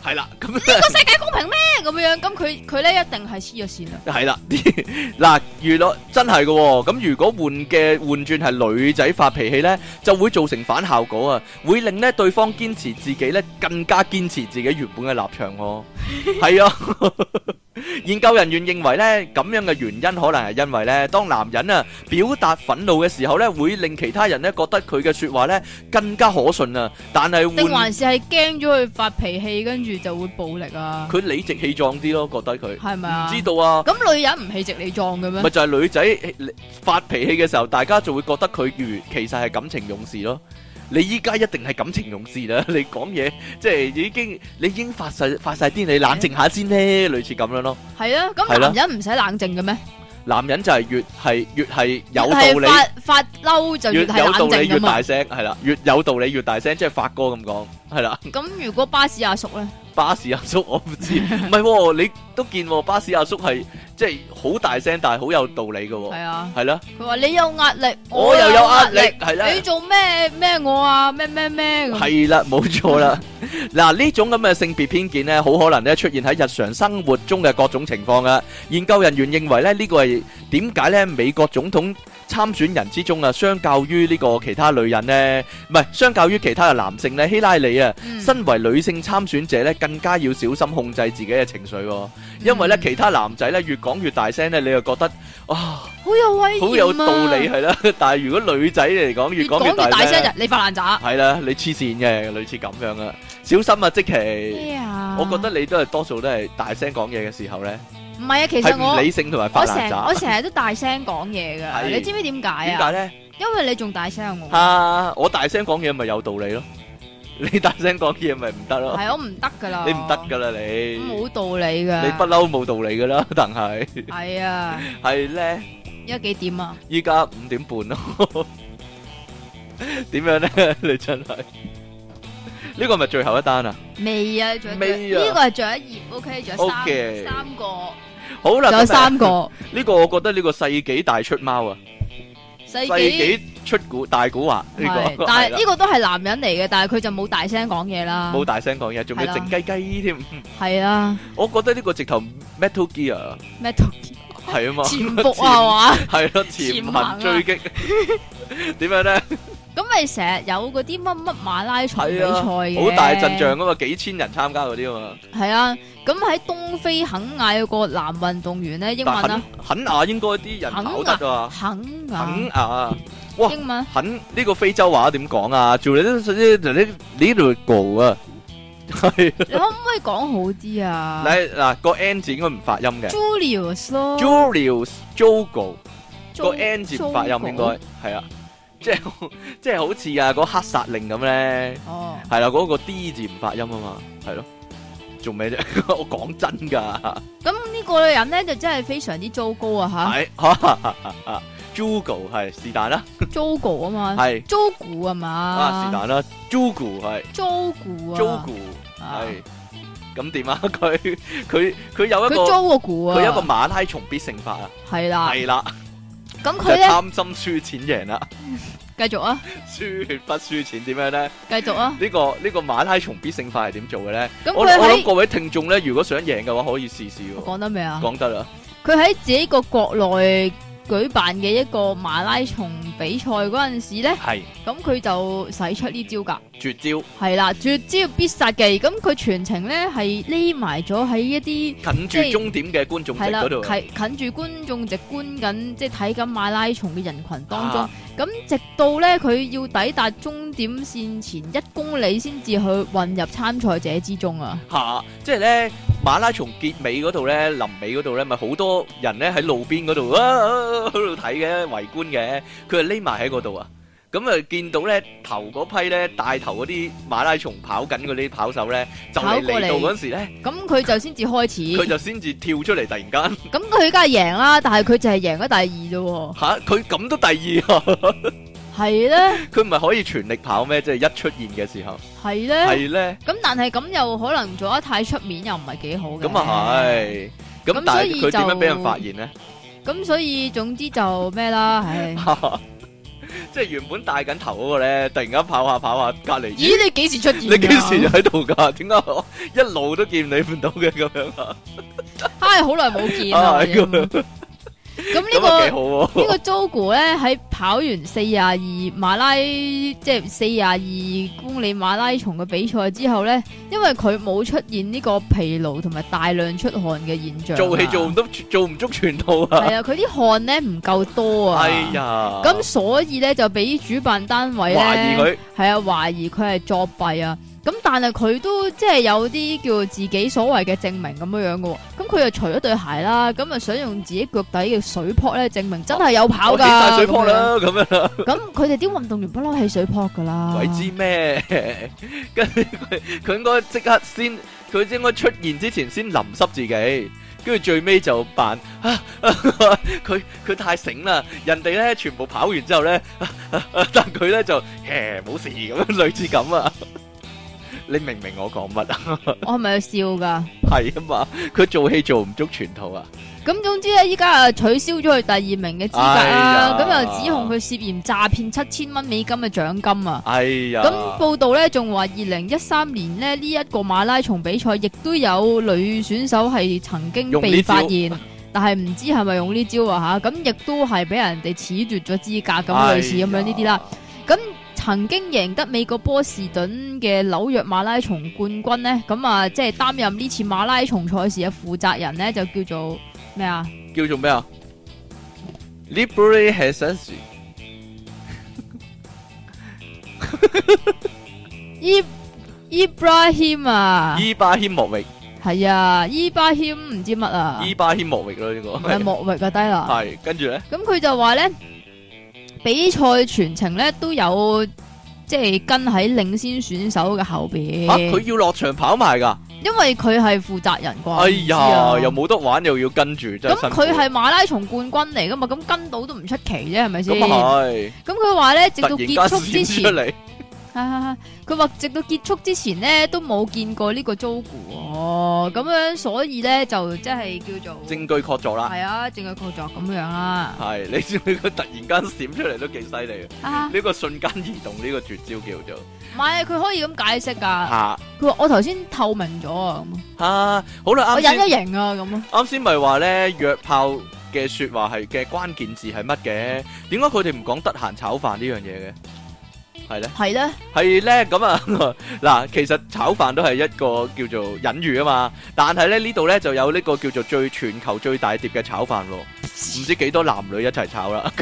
係啦，咁呢個世界公平咩？咁樣咁佢佢咧一定係黐咗線啦。 係啦，嗱，娛樂真係嘅喎。咁如果換嘅換轉係女仔發脾氣咧，就會造成反效果啊，會令咧對方堅持自己咧更加堅持自己原本嘅立場喎。係啊。研究人員認為咧，咁樣嘅原因可能係因為咧，當男人啊表達憤怒嘅時候咧，會令其他人咧覺得佢嘅說話咧更加可信啊。但係定還是係驚咗佢發脾氣，跟住就會暴力啊？ 佢理直氣壯啲咯，覺得佢係咪啊？ 唔知道啊。 咁女人唔氣直氣壯嘅咩？ 咪就係女仔發脾氣嘅時候，大家就會覺得佢如其實係感情用事咯。你依家一定係感情用事啦！你講嘢即係已經你已經發晒發晒癲，你冷靜下先咧，類似咁樣咯。 係啊，咁男人唔使冷靜嘅咩？男人就係越係越係有道理， 發發嬲就越係冷靜㗎嘛。越有道理越大聲，係啦，越有道理越大聲，即係發哥咁講，係啦。咁如果巴士阿叔咧？巴士阿叔我唔知，唔係喎，你都見喎，巴士阿叔係即係好大聲，但係好有道理嘅喎。係啊，係啦。佢話你有壓力，我又有壓力，係啦。你做咩咩我啊？咩咩咩咁。係啦，冇錯啦。嗱，呢種咁嘅性別偏見咧，好可能咧出現喺日常生活中嘅各種情況噶。研究人員認為咧，呢個係點解咧？美國總統參選人之中啊，相較於呢個其他女人咧，唔係相較於其他嘅男性咧，希拉里啊，身為女性參選者咧，更加要小心控制自己嘅情緒，因為咧其他男仔咧越講越大聲咧，你又覺得啊好有威嚴啊，好有道理係啦。但係如果女仔嚟講，越講越大聲，你發爛渣係啦，你黐線嘅，類似咁樣啊，小心啊，積淇，我覺得你都係多數都係大聲講嘢嘅時候咧。唔係啊，其實我理性同埋發爛渣，我成日都大聲講嘢噶，你知唔知點解啊？點解咧？因為你仲大聲過我。啊，我大聲講嘢咪有道理咯。你大聲講嘢咪唔得咯？係我唔得噶啦，你唔得噶啦你，冇道理噶，你不嬲冇道理噶啦，但係係啊，係咧，依家幾點啊？依家五點半咯，點樣咧？你真係呢個係咪最後一單啊？未啊，仲未啊？呢個係最後一頁 ，OK，仲有三三個，好啦，仲有三個。呢個我覺得呢個世紀大出貓啊！世紀出古大古惑呢個，但係呢個都係男人嚟嘅，但係佢就冇大聲講嘢啦，冇大聲講嘢，仲要靜雞雞添，係啊，我覺得呢個直頭 Metal Gear，Metal Gear 係啊嘛，潛伏啊嘛，係咯，潛行追擊，點樣咧？咁咪成日有嗰啲乜乜馬拉松比賽嘅，好大陣仗噶嘛，幾千人參加嗰啲啊嘛。係啊，咁喺東非肯亞有個男運動員咧，英文啊，肯亞應該啲人跑得啊，肯亞，肯亞，哇，英文肯呢個非洲話點講啊？做你啲啲啲呢度個啊，係。你可唔可以講好啲啊？嗱嗱個 N 字應該唔發音嘅 ，Julius 咯 ，Julius Jogo 個 N 字唔發音應該係啊。即係即係好似啊嗰黑殺令咁咧，係啦，嗰個 D 字唔發音啊嘛，係咯，做咩啫？我講真噶。咁呢個人咧就真係非常之糟糕啊吓。係，Jogo 係是但啦。Jogo 啊嘛。係。Jogo 啊嘛。啊是但啦。Jogo 係。Jogo 啊。Jogo 係。咁點啊？佢佢佢有一個。佢 Jogo 啊。佢有一個馬拉松必勝法啊。係啦。係啦。咁佢咧貪心輸錢贏啦，繼續啊！輸血不輸錢點樣咧？繼續啊！呢個呢個馬拉松必勝法係點做嘅咧？我我諗各位聽眾咧，如果想贏嘅話，可以試試。講得未啊？講得啦！佢喺自己個國內舉辦嘅一個馬拉松比賽嗰陣時咧，係咁佢就使出呢招噶絕招，係啦，絕招必殺技。咁佢全程咧係匿埋咗喺一啲近住終點嘅觀眾席嗰度，近近住觀眾席觀緊，即係睇緊馬拉松嘅人群當中。咁、啊、直到咧佢要抵達終點線前一公里，先至去混入參賽者之中啊！吓、啊，即係咧馬拉松結尾嗰度咧，臨尾嗰度咧，咪好多人咧喺路邊嗰度啊喺度睇嘅圍觀嘅，佢係匿埋喺嗰度啊！咁啊，見到咧頭嗰批咧帶頭嗰啲馬拉松跑緊嗰啲跑手咧，就嚟嚟到嗰時咧，咁佢就先至開始，佢就先至跳出嚟，突然間，咁佢梗係贏啦，但係佢就係贏咗第二啫。吓，佢咁都第二啊？係咧，佢唔係可以全力跑咩？即係一出現嘅時候，係咧，係咧。咁但係咁又可能做得太出面，又唔係幾好嘅。咁啊係，咁但係佢點樣俾人發現咧？咁所以總之就咩啦，唉。 即係原本戴緊頭嗰個咧，突然間跑下跑下，隔離咦？你幾時出現？ 你幾時喺度㗎？點解我一路都見你唔到嘅咁樣啊？ 唉，好耐冇見啦。咁呢個呢個 Jogo 咧喺跑完四廿二馬拉即係四廿二公里馬拉松嘅比賽之後咧，因為佢冇出現呢個疲勞同埋大量出汗嘅現象， 做戲做唔到，做唔足全套啊！ 係啊，佢啲汗咧唔夠多啊！ 哎呀， 咁所以咧就俾主辦單位咧懷疑佢係啊，懷疑佢係作弊啊！咁但係佢都即係有啲叫自己所謂嘅證明咁樣樣嘅，咁佢又除咗對鞋啦，咁啊想用自己腳底嘅水泡咧證明真係有跑噶， 我起晒水泡啦咁樣啦。 咁佢哋啲運動員不嬲起水泡噶啦， 鬼知咩？跟住佢佢應該即刻先，佢應該出現之前先淋濕自己，跟住最尾就扮啊！佢佢太醒啦，人哋咧全部跑完之後咧，但佢咧就誒冇事咁樣，類似咁啊！你明唔明我講乜啊？ 我係咪要笑噶？ 係啊嘛，佢做戲做唔足全套啊！ 咁總之咧，依家啊取消咗佢第二名嘅資格啦，咁、哎、又指控佢涉嫌詐騙七千蚊美金嘅獎金啊！ 哎呀！ 咁報道咧仲話，二零一三年咧呢一、這個馬拉松比賽，亦都有女選手係曾經被發現，但係唔知係咪用呢招啊吓？咁亦都係俾人哋褫奪咗資格，咁、哎、類似咁樣呢啲啦。咁曾經贏得美國波士頓嘅紐約馬拉松冠軍呢，咁啊，即係擔任呢次馬拉松賽事嘅負責人呢，就叫做咩啊？ 叫做咩啊 ？Libre Hassan Ibrahim 啊？ 伊巴謙莫域係啊，伊巴謙唔知乜啊？ 伊巴謙莫域咯呢個係莫域啊低啦。 係跟住咧， 咁佢就話咧。比賽全程咧都有即係跟喺領先選手嘅後邊。 啊，佢要落場跑埋噶？ 因為佢係負責人啩。 哎呀，又冇得玩又要跟住，真係辛苦。 咁佢係馬拉松冠軍嚟噶嘛？咁跟到都唔出奇啫，係咪先？ 咁係。 咁佢話咧，直到結束之前。 突然間閃出嚟。 佢話直到結束之前呢，都冇見過呢個 Jogo 哦，咁樣所以咧就即係叫做證據確鑿啦。 係啊，證據確鑿咁樣啦。 係，你知唔知佢突然間閃出嚟都幾犀利啊？呢個瞬間移動呢個絕招叫做。唔係， 佢可以咁解釋噶。 吓， 佢話我頭先透明咗啊。 吓，好啦， 我隱咗形啊咁。 啱先咪話咧約炮嘅說話係嘅關鍵字係乜嘅？點解佢哋唔講得閒炒飯呢樣嘢嘅？係咧，係咧，係咧，咁啊嗱，其實炒飯都係一個叫做隱喻啊嘛，但係咧呢度咧就有呢個叫做最全球最大碟嘅炒飯咯，唔知幾多男女一齊炒啦。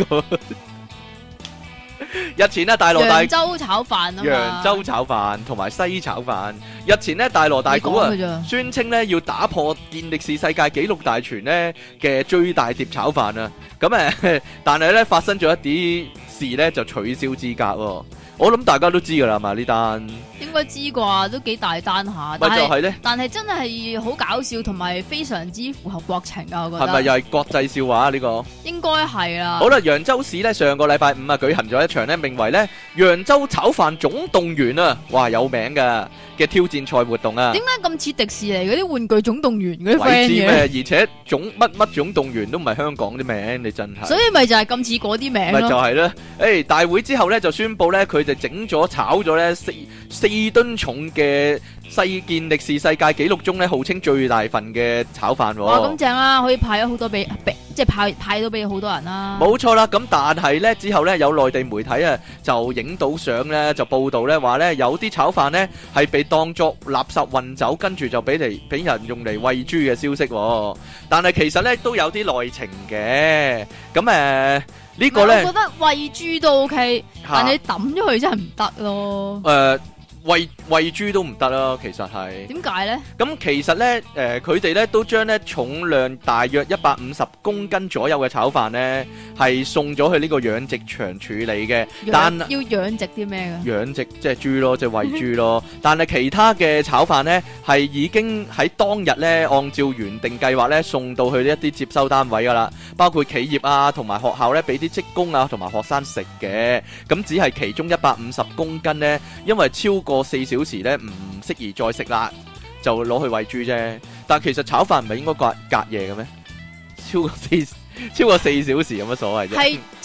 日前咧大羅大揚州炒飯啊嘛， 揚州炒飯同埋西炒飯。日前咧大羅大鼓啊，宣稱咧要打破健力士世界紀錄大全咧嘅最大碟炒飯啊，咁誒，但係咧發生咗一啲事咧就取消資格喎。我諗大家都知噶啦嘛，呢單應該知啩，都幾大單下。 咪就係咧， 但係真係好搞笑，同埋非常之符合國情啊！我覺得係咪又係國際笑話啊？呢個應該係啦。 好啦，揚州市咧上個禮拜五啊舉行咗一場咧名為咧揚州炒飯總動員啊，哇有名噶嘅挑戰賽活動啊！ 點解咁似迪士尼嗰啲玩具總動員嗰啲 friend 嘅？而且總乜乜總動員都唔係香港啲名，你真係。 所以咪就係咁似嗰啲名咯。 咪就係咧，誒大會之後咧就宣布咧佢哋整咗炒咗咧四四噸重嘅世健力士世界紀錄中咧號稱最大份嘅炒飯。 哇，咁正啦，可以派咗好多俾俾。即係派派到俾好多人啦， 冇錯啦。咁但係咧之後咧有內地媒體啊就影到相咧就報道咧話咧有啲炒飯咧係被當作垃圾運走，跟住就俾嚟俾人用嚟餵豬嘅消息。但係其實咧都有啲內情嘅。咁誒呢個咧， 我覺得餵豬都 OK，但係你抌咗佢真係唔得咯。 誒。餵餵豬都唔得啦，其實係點解呢？咁其實呢，誒佢哋呢都將呢重量大約一百五十公斤左右嘅炒飯呢，係送咗去呢個養殖場處理嘅。但要養殖啲咩嘅？ 養殖即係豬咯，即係餵豬咯。但係其他嘅炒飯呢，係已經喺當日呢，按照原定計劃呢，送到去一啲接收單位噶啦，包括企業啊同埋學校呢，俾啲職工啊同埋學生食嘅。咁只係其中一百五十公斤呢，因為超過過四小時咧唔適宜再食啦，就攞去餵豬啫。但係其實炒飯唔係應該隔隔夜嘅咩？超過四超過四小時有乜所謂啫？ 係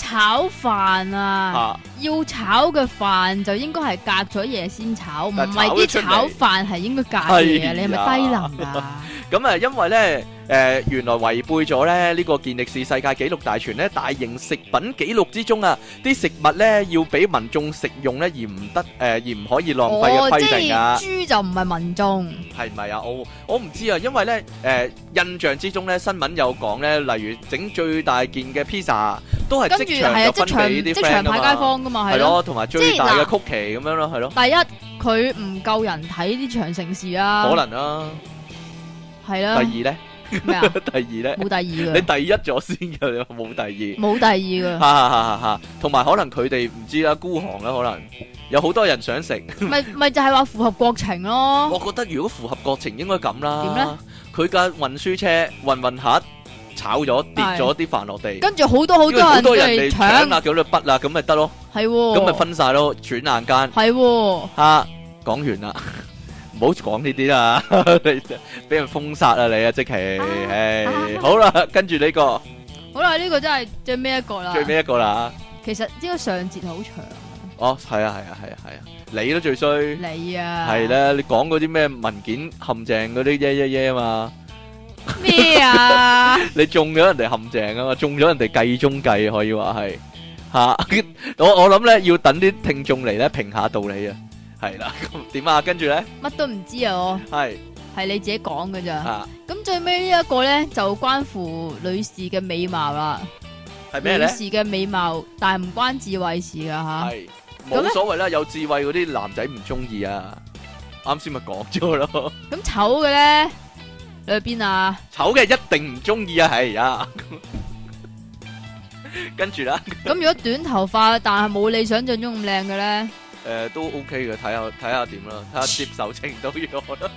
炒飯啊，要炒嘅飯就應該係隔咗夜先炒，唔係啲炒飯係應該隔夜啊！你係咪低能啊？ 咁啊，因為咧，誒，原來違背咗咧呢個健力士世界紀錄大全咧大型食品紀錄之中啊，啲食物咧要俾民眾食用咧，而唔得誒，而唔可以浪費嘅規定啊。 哦，即係豬就唔係民眾， 係咪啊？我我唔知啊，因為咧，誒，印象之中咧，新聞有講咧，例如整最大件嘅 pizza 都係即場就分俾啲 friend 噶嘛， 派街坊噶嘛， 係咯，同埋最大嘅曲奇咁樣咯，係咯。 第一，佢唔夠人睇呢場盛事啊， 可能啊。 係啦。 第二咧咩啊？第二咧冇第二嘅。 你第一咗先嘅，你話冇第二。 冇第二嘅。 哈哈哈！哈，同埋可能佢哋唔知啦，孤寒啦，可能有好多人想食。 咪咪就係話符合國情咯。 我覺得如果符合國情，應該咁啦。 點咧？ 佢架運輸車運運下炒咗跌咗啲飯落地， 跟住好多好多好多人嚟搶啊，叫佢筆啊，咁咪得咯。 係喎。 咁咪分晒咯，轉眼間。 係喎。 嚇，講完啦。唔好講呢啲啦，你俾人封殺啊你啊，即係，唉，好啦，跟住呢個， 好啦，呢個真係最尾一個啦， 最尾一個啦。 其實呢個上節好長。 哦，係啊，係啊，係啊，係啊，你都最衰。 你啊。係啦，你講嗰啲咩文件陷阱嗰啲耶耶耶啊嘛。 咩啊？ 你中咗人哋陷阱啊嘛，中咗人哋計中計可以話係吓。我我諗咧要等啲聽眾嚟咧評下道理啊。係啦，咁點啊？跟住咧， 乜都唔知啊！我係係你自己講㗎咋？咁最尾呢一個咧就關乎女士嘅美貌啦。 係咩咧？ 女士嘅美貌，但係唔關智慧事噶吓。 係冇所謂啦，有智慧嗰啲男仔唔中意啊。啱先咪講咗咯。咁醜嘅咧，你去邊啊？ 醜嘅一定唔中意啊！係啊。跟住啦。咁如果短頭髮但係冇你想象中咁靚嘅咧？ 誒、呃，都 OK 嘅，睇下睇下點啦，睇下接受程度如何啦。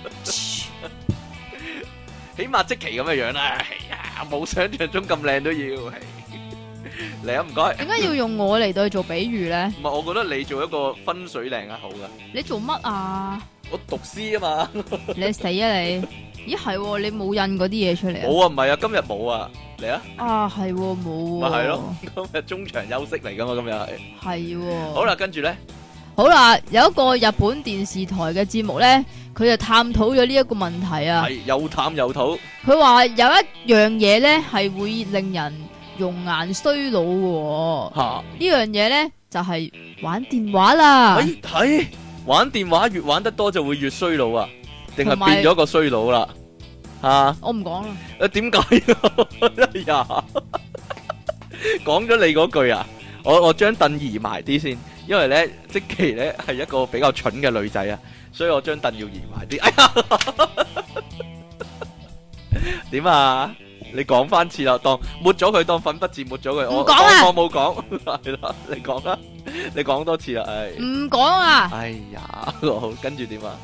起碼即期咁嘅樣啦，係啊，冇想象中咁靚都要。嚟啊，唔該。點解要用我嚟到去做比喻咧？ 唔係，我覺得你做一個分水嶺啊，好噶。 你做乜啊？ 我讀詩啊嘛。 你死啊你！咦係，你冇印嗰啲嘢出嚟啊？ 冇啊，唔係啊，今日冇啊。嚟啊！ 啊係，冇。 咪係咯，今日中場休息嚟噶嘛，今日係。 係。 好啦，跟住咧。 好啦，有一個日本電視台嘅節目咧，佢就探討咗呢一個問題啊。 係又探又討。佢話有一樣嘢咧係會令人容顏衰老嘅。吓，呢樣嘢咧就係玩電話啦。 係係玩電話越玩得多就會越衰老啊？定係變咗個衰佬啦？吓，我唔講啦。誒，點解？哎呀，講咗你嗰句啊！我我將凳移埋啲先。因為咧，積淇咧係一個比較蠢嘅女仔啊，所以我將凳要移埋啲。哎呀，點啊？你講翻次啦，當抹咗佢，當粉筆字抹咗佢。我講我冇講，係啦，你講啦，你講多次啦，唉。唔講啊！哎呀，好，跟住點啊？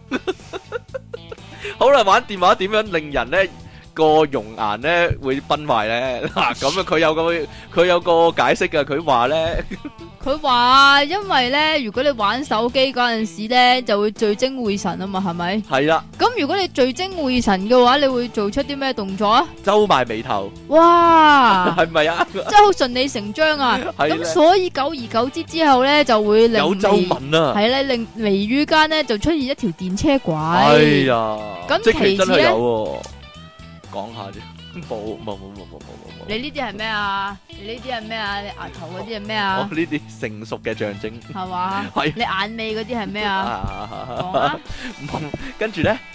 好啦，玩電話點樣令人咧個容顏咧會崩壞咧？嗱，咁啊，佢有個佢有個解釋嘅，佢話咧。佢話因為咧，如果你玩手機嗰陣時咧，就會聚精會神啊嘛，係咪？係啦。咁如果你聚精會神嘅話，你會做出啲咩動作啊？皺埋眉頭。哇！係咪啊？真係好順理成章啊！咁所以久而久之之後咧，就會令有皺紋啊。係咧，令眉宇間咧就出現一條電車軌。哎呀！咁其次咧，講下啫。冇冇冇冇冇冇冇！你呢啲係咩啊？你呢啲係咩啊？你額頭嗰啲係咩啊？哦，呢啲成熟嘅象徵係嘛？係。你眼尾嗰啲係咩啊？講啊！跟住咧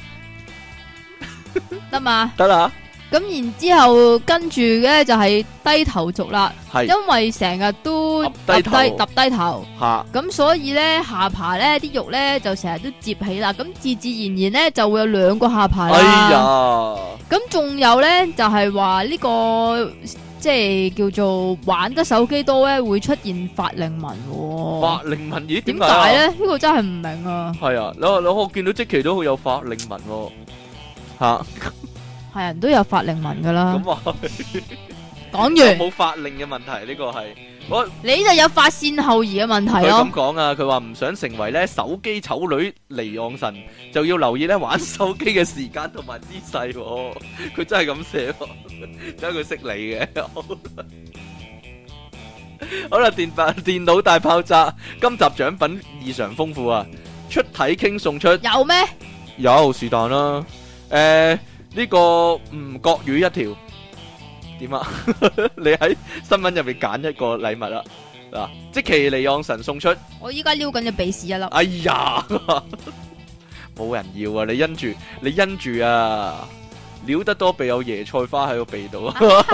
得嘛？得啦。咁然之後跟住嘅就係低頭族啦，係因為成日都揼低揼低頭，吓咁所以咧下巴咧啲肉咧就成日都接起啦，咁自自然然咧就會有兩個下巴啦。哎呀！咁仲有咧就係話呢個即係叫做玩得手機多咧會出現法令紋。法令紋咦？點解咧？呢個真係唔明啊！係啊，我我我見到積淇都好有法令紋吓。係人都有法令紋噶啦。咁啊，講完冇法令嘅問題，呢個係我你就有髮線後移嘅問題咯。佢咁講啊，佢話唔想成為咧手機醜女離岸神，就要留意咧玩手機嘅時間同埋姿勢。佢真係咁寫，真係佢識你嘅。 好啦，電爆電腦大爆炸，今集獎品異常豐富啊！出體傾送出有咩？ 有是但啦，誒呢個吳國語一條點啊？你喺新聞入面揀一個禮物啦，嗱，積淇離岸神送出。 我依家撩緊隻鼻屎一粒。 哎呀，冇人要啊！你因住你因住啊！撩得多鼻有椰菜花喺個鼻度啊！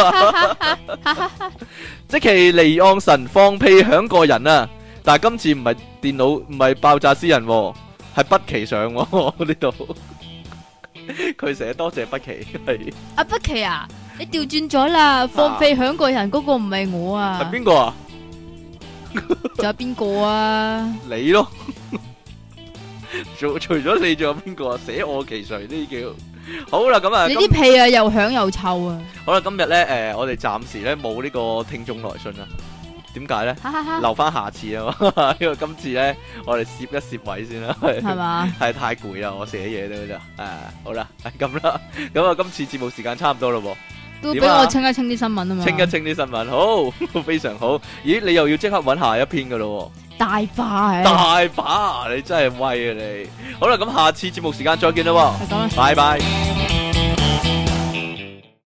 積淇離岸神放屁響過人啊！但係今次唔係電腦唔係爆炸詩人，係北奇上呢度。佢寫多謝北奇係。 阿北奇啊，你調轉咗啦！放屁響過人嗰個唔係我啊。 係邊個啊？ 仲有邊個啊？ 你咯。除除咗你，仲有邊個啊？捨我其誰呢叫？好啦，咁啊， 你啲屁啊又響又臭啊！ 好啦，今日咧誒，我哋暫時咧冇呢個聽眾來信啦。點解咧？留翻下次啊嘛，因為今次咧我哋攝一攝位先啦。係嘛？係太攰啦，我寫嘢都就誒，好啦，係咁啦。咁啊，今次節目時間差唔多咯喎。 都俾我清一清啲新聞啊嘛。 清一清啲新聞，好，非常好。咦，你又要即刻揾下一篇噶咯？ 大把， 大把，你真係威啊你！好啦，咁下次節目時間再見啦， 係咁啦， 拜拜。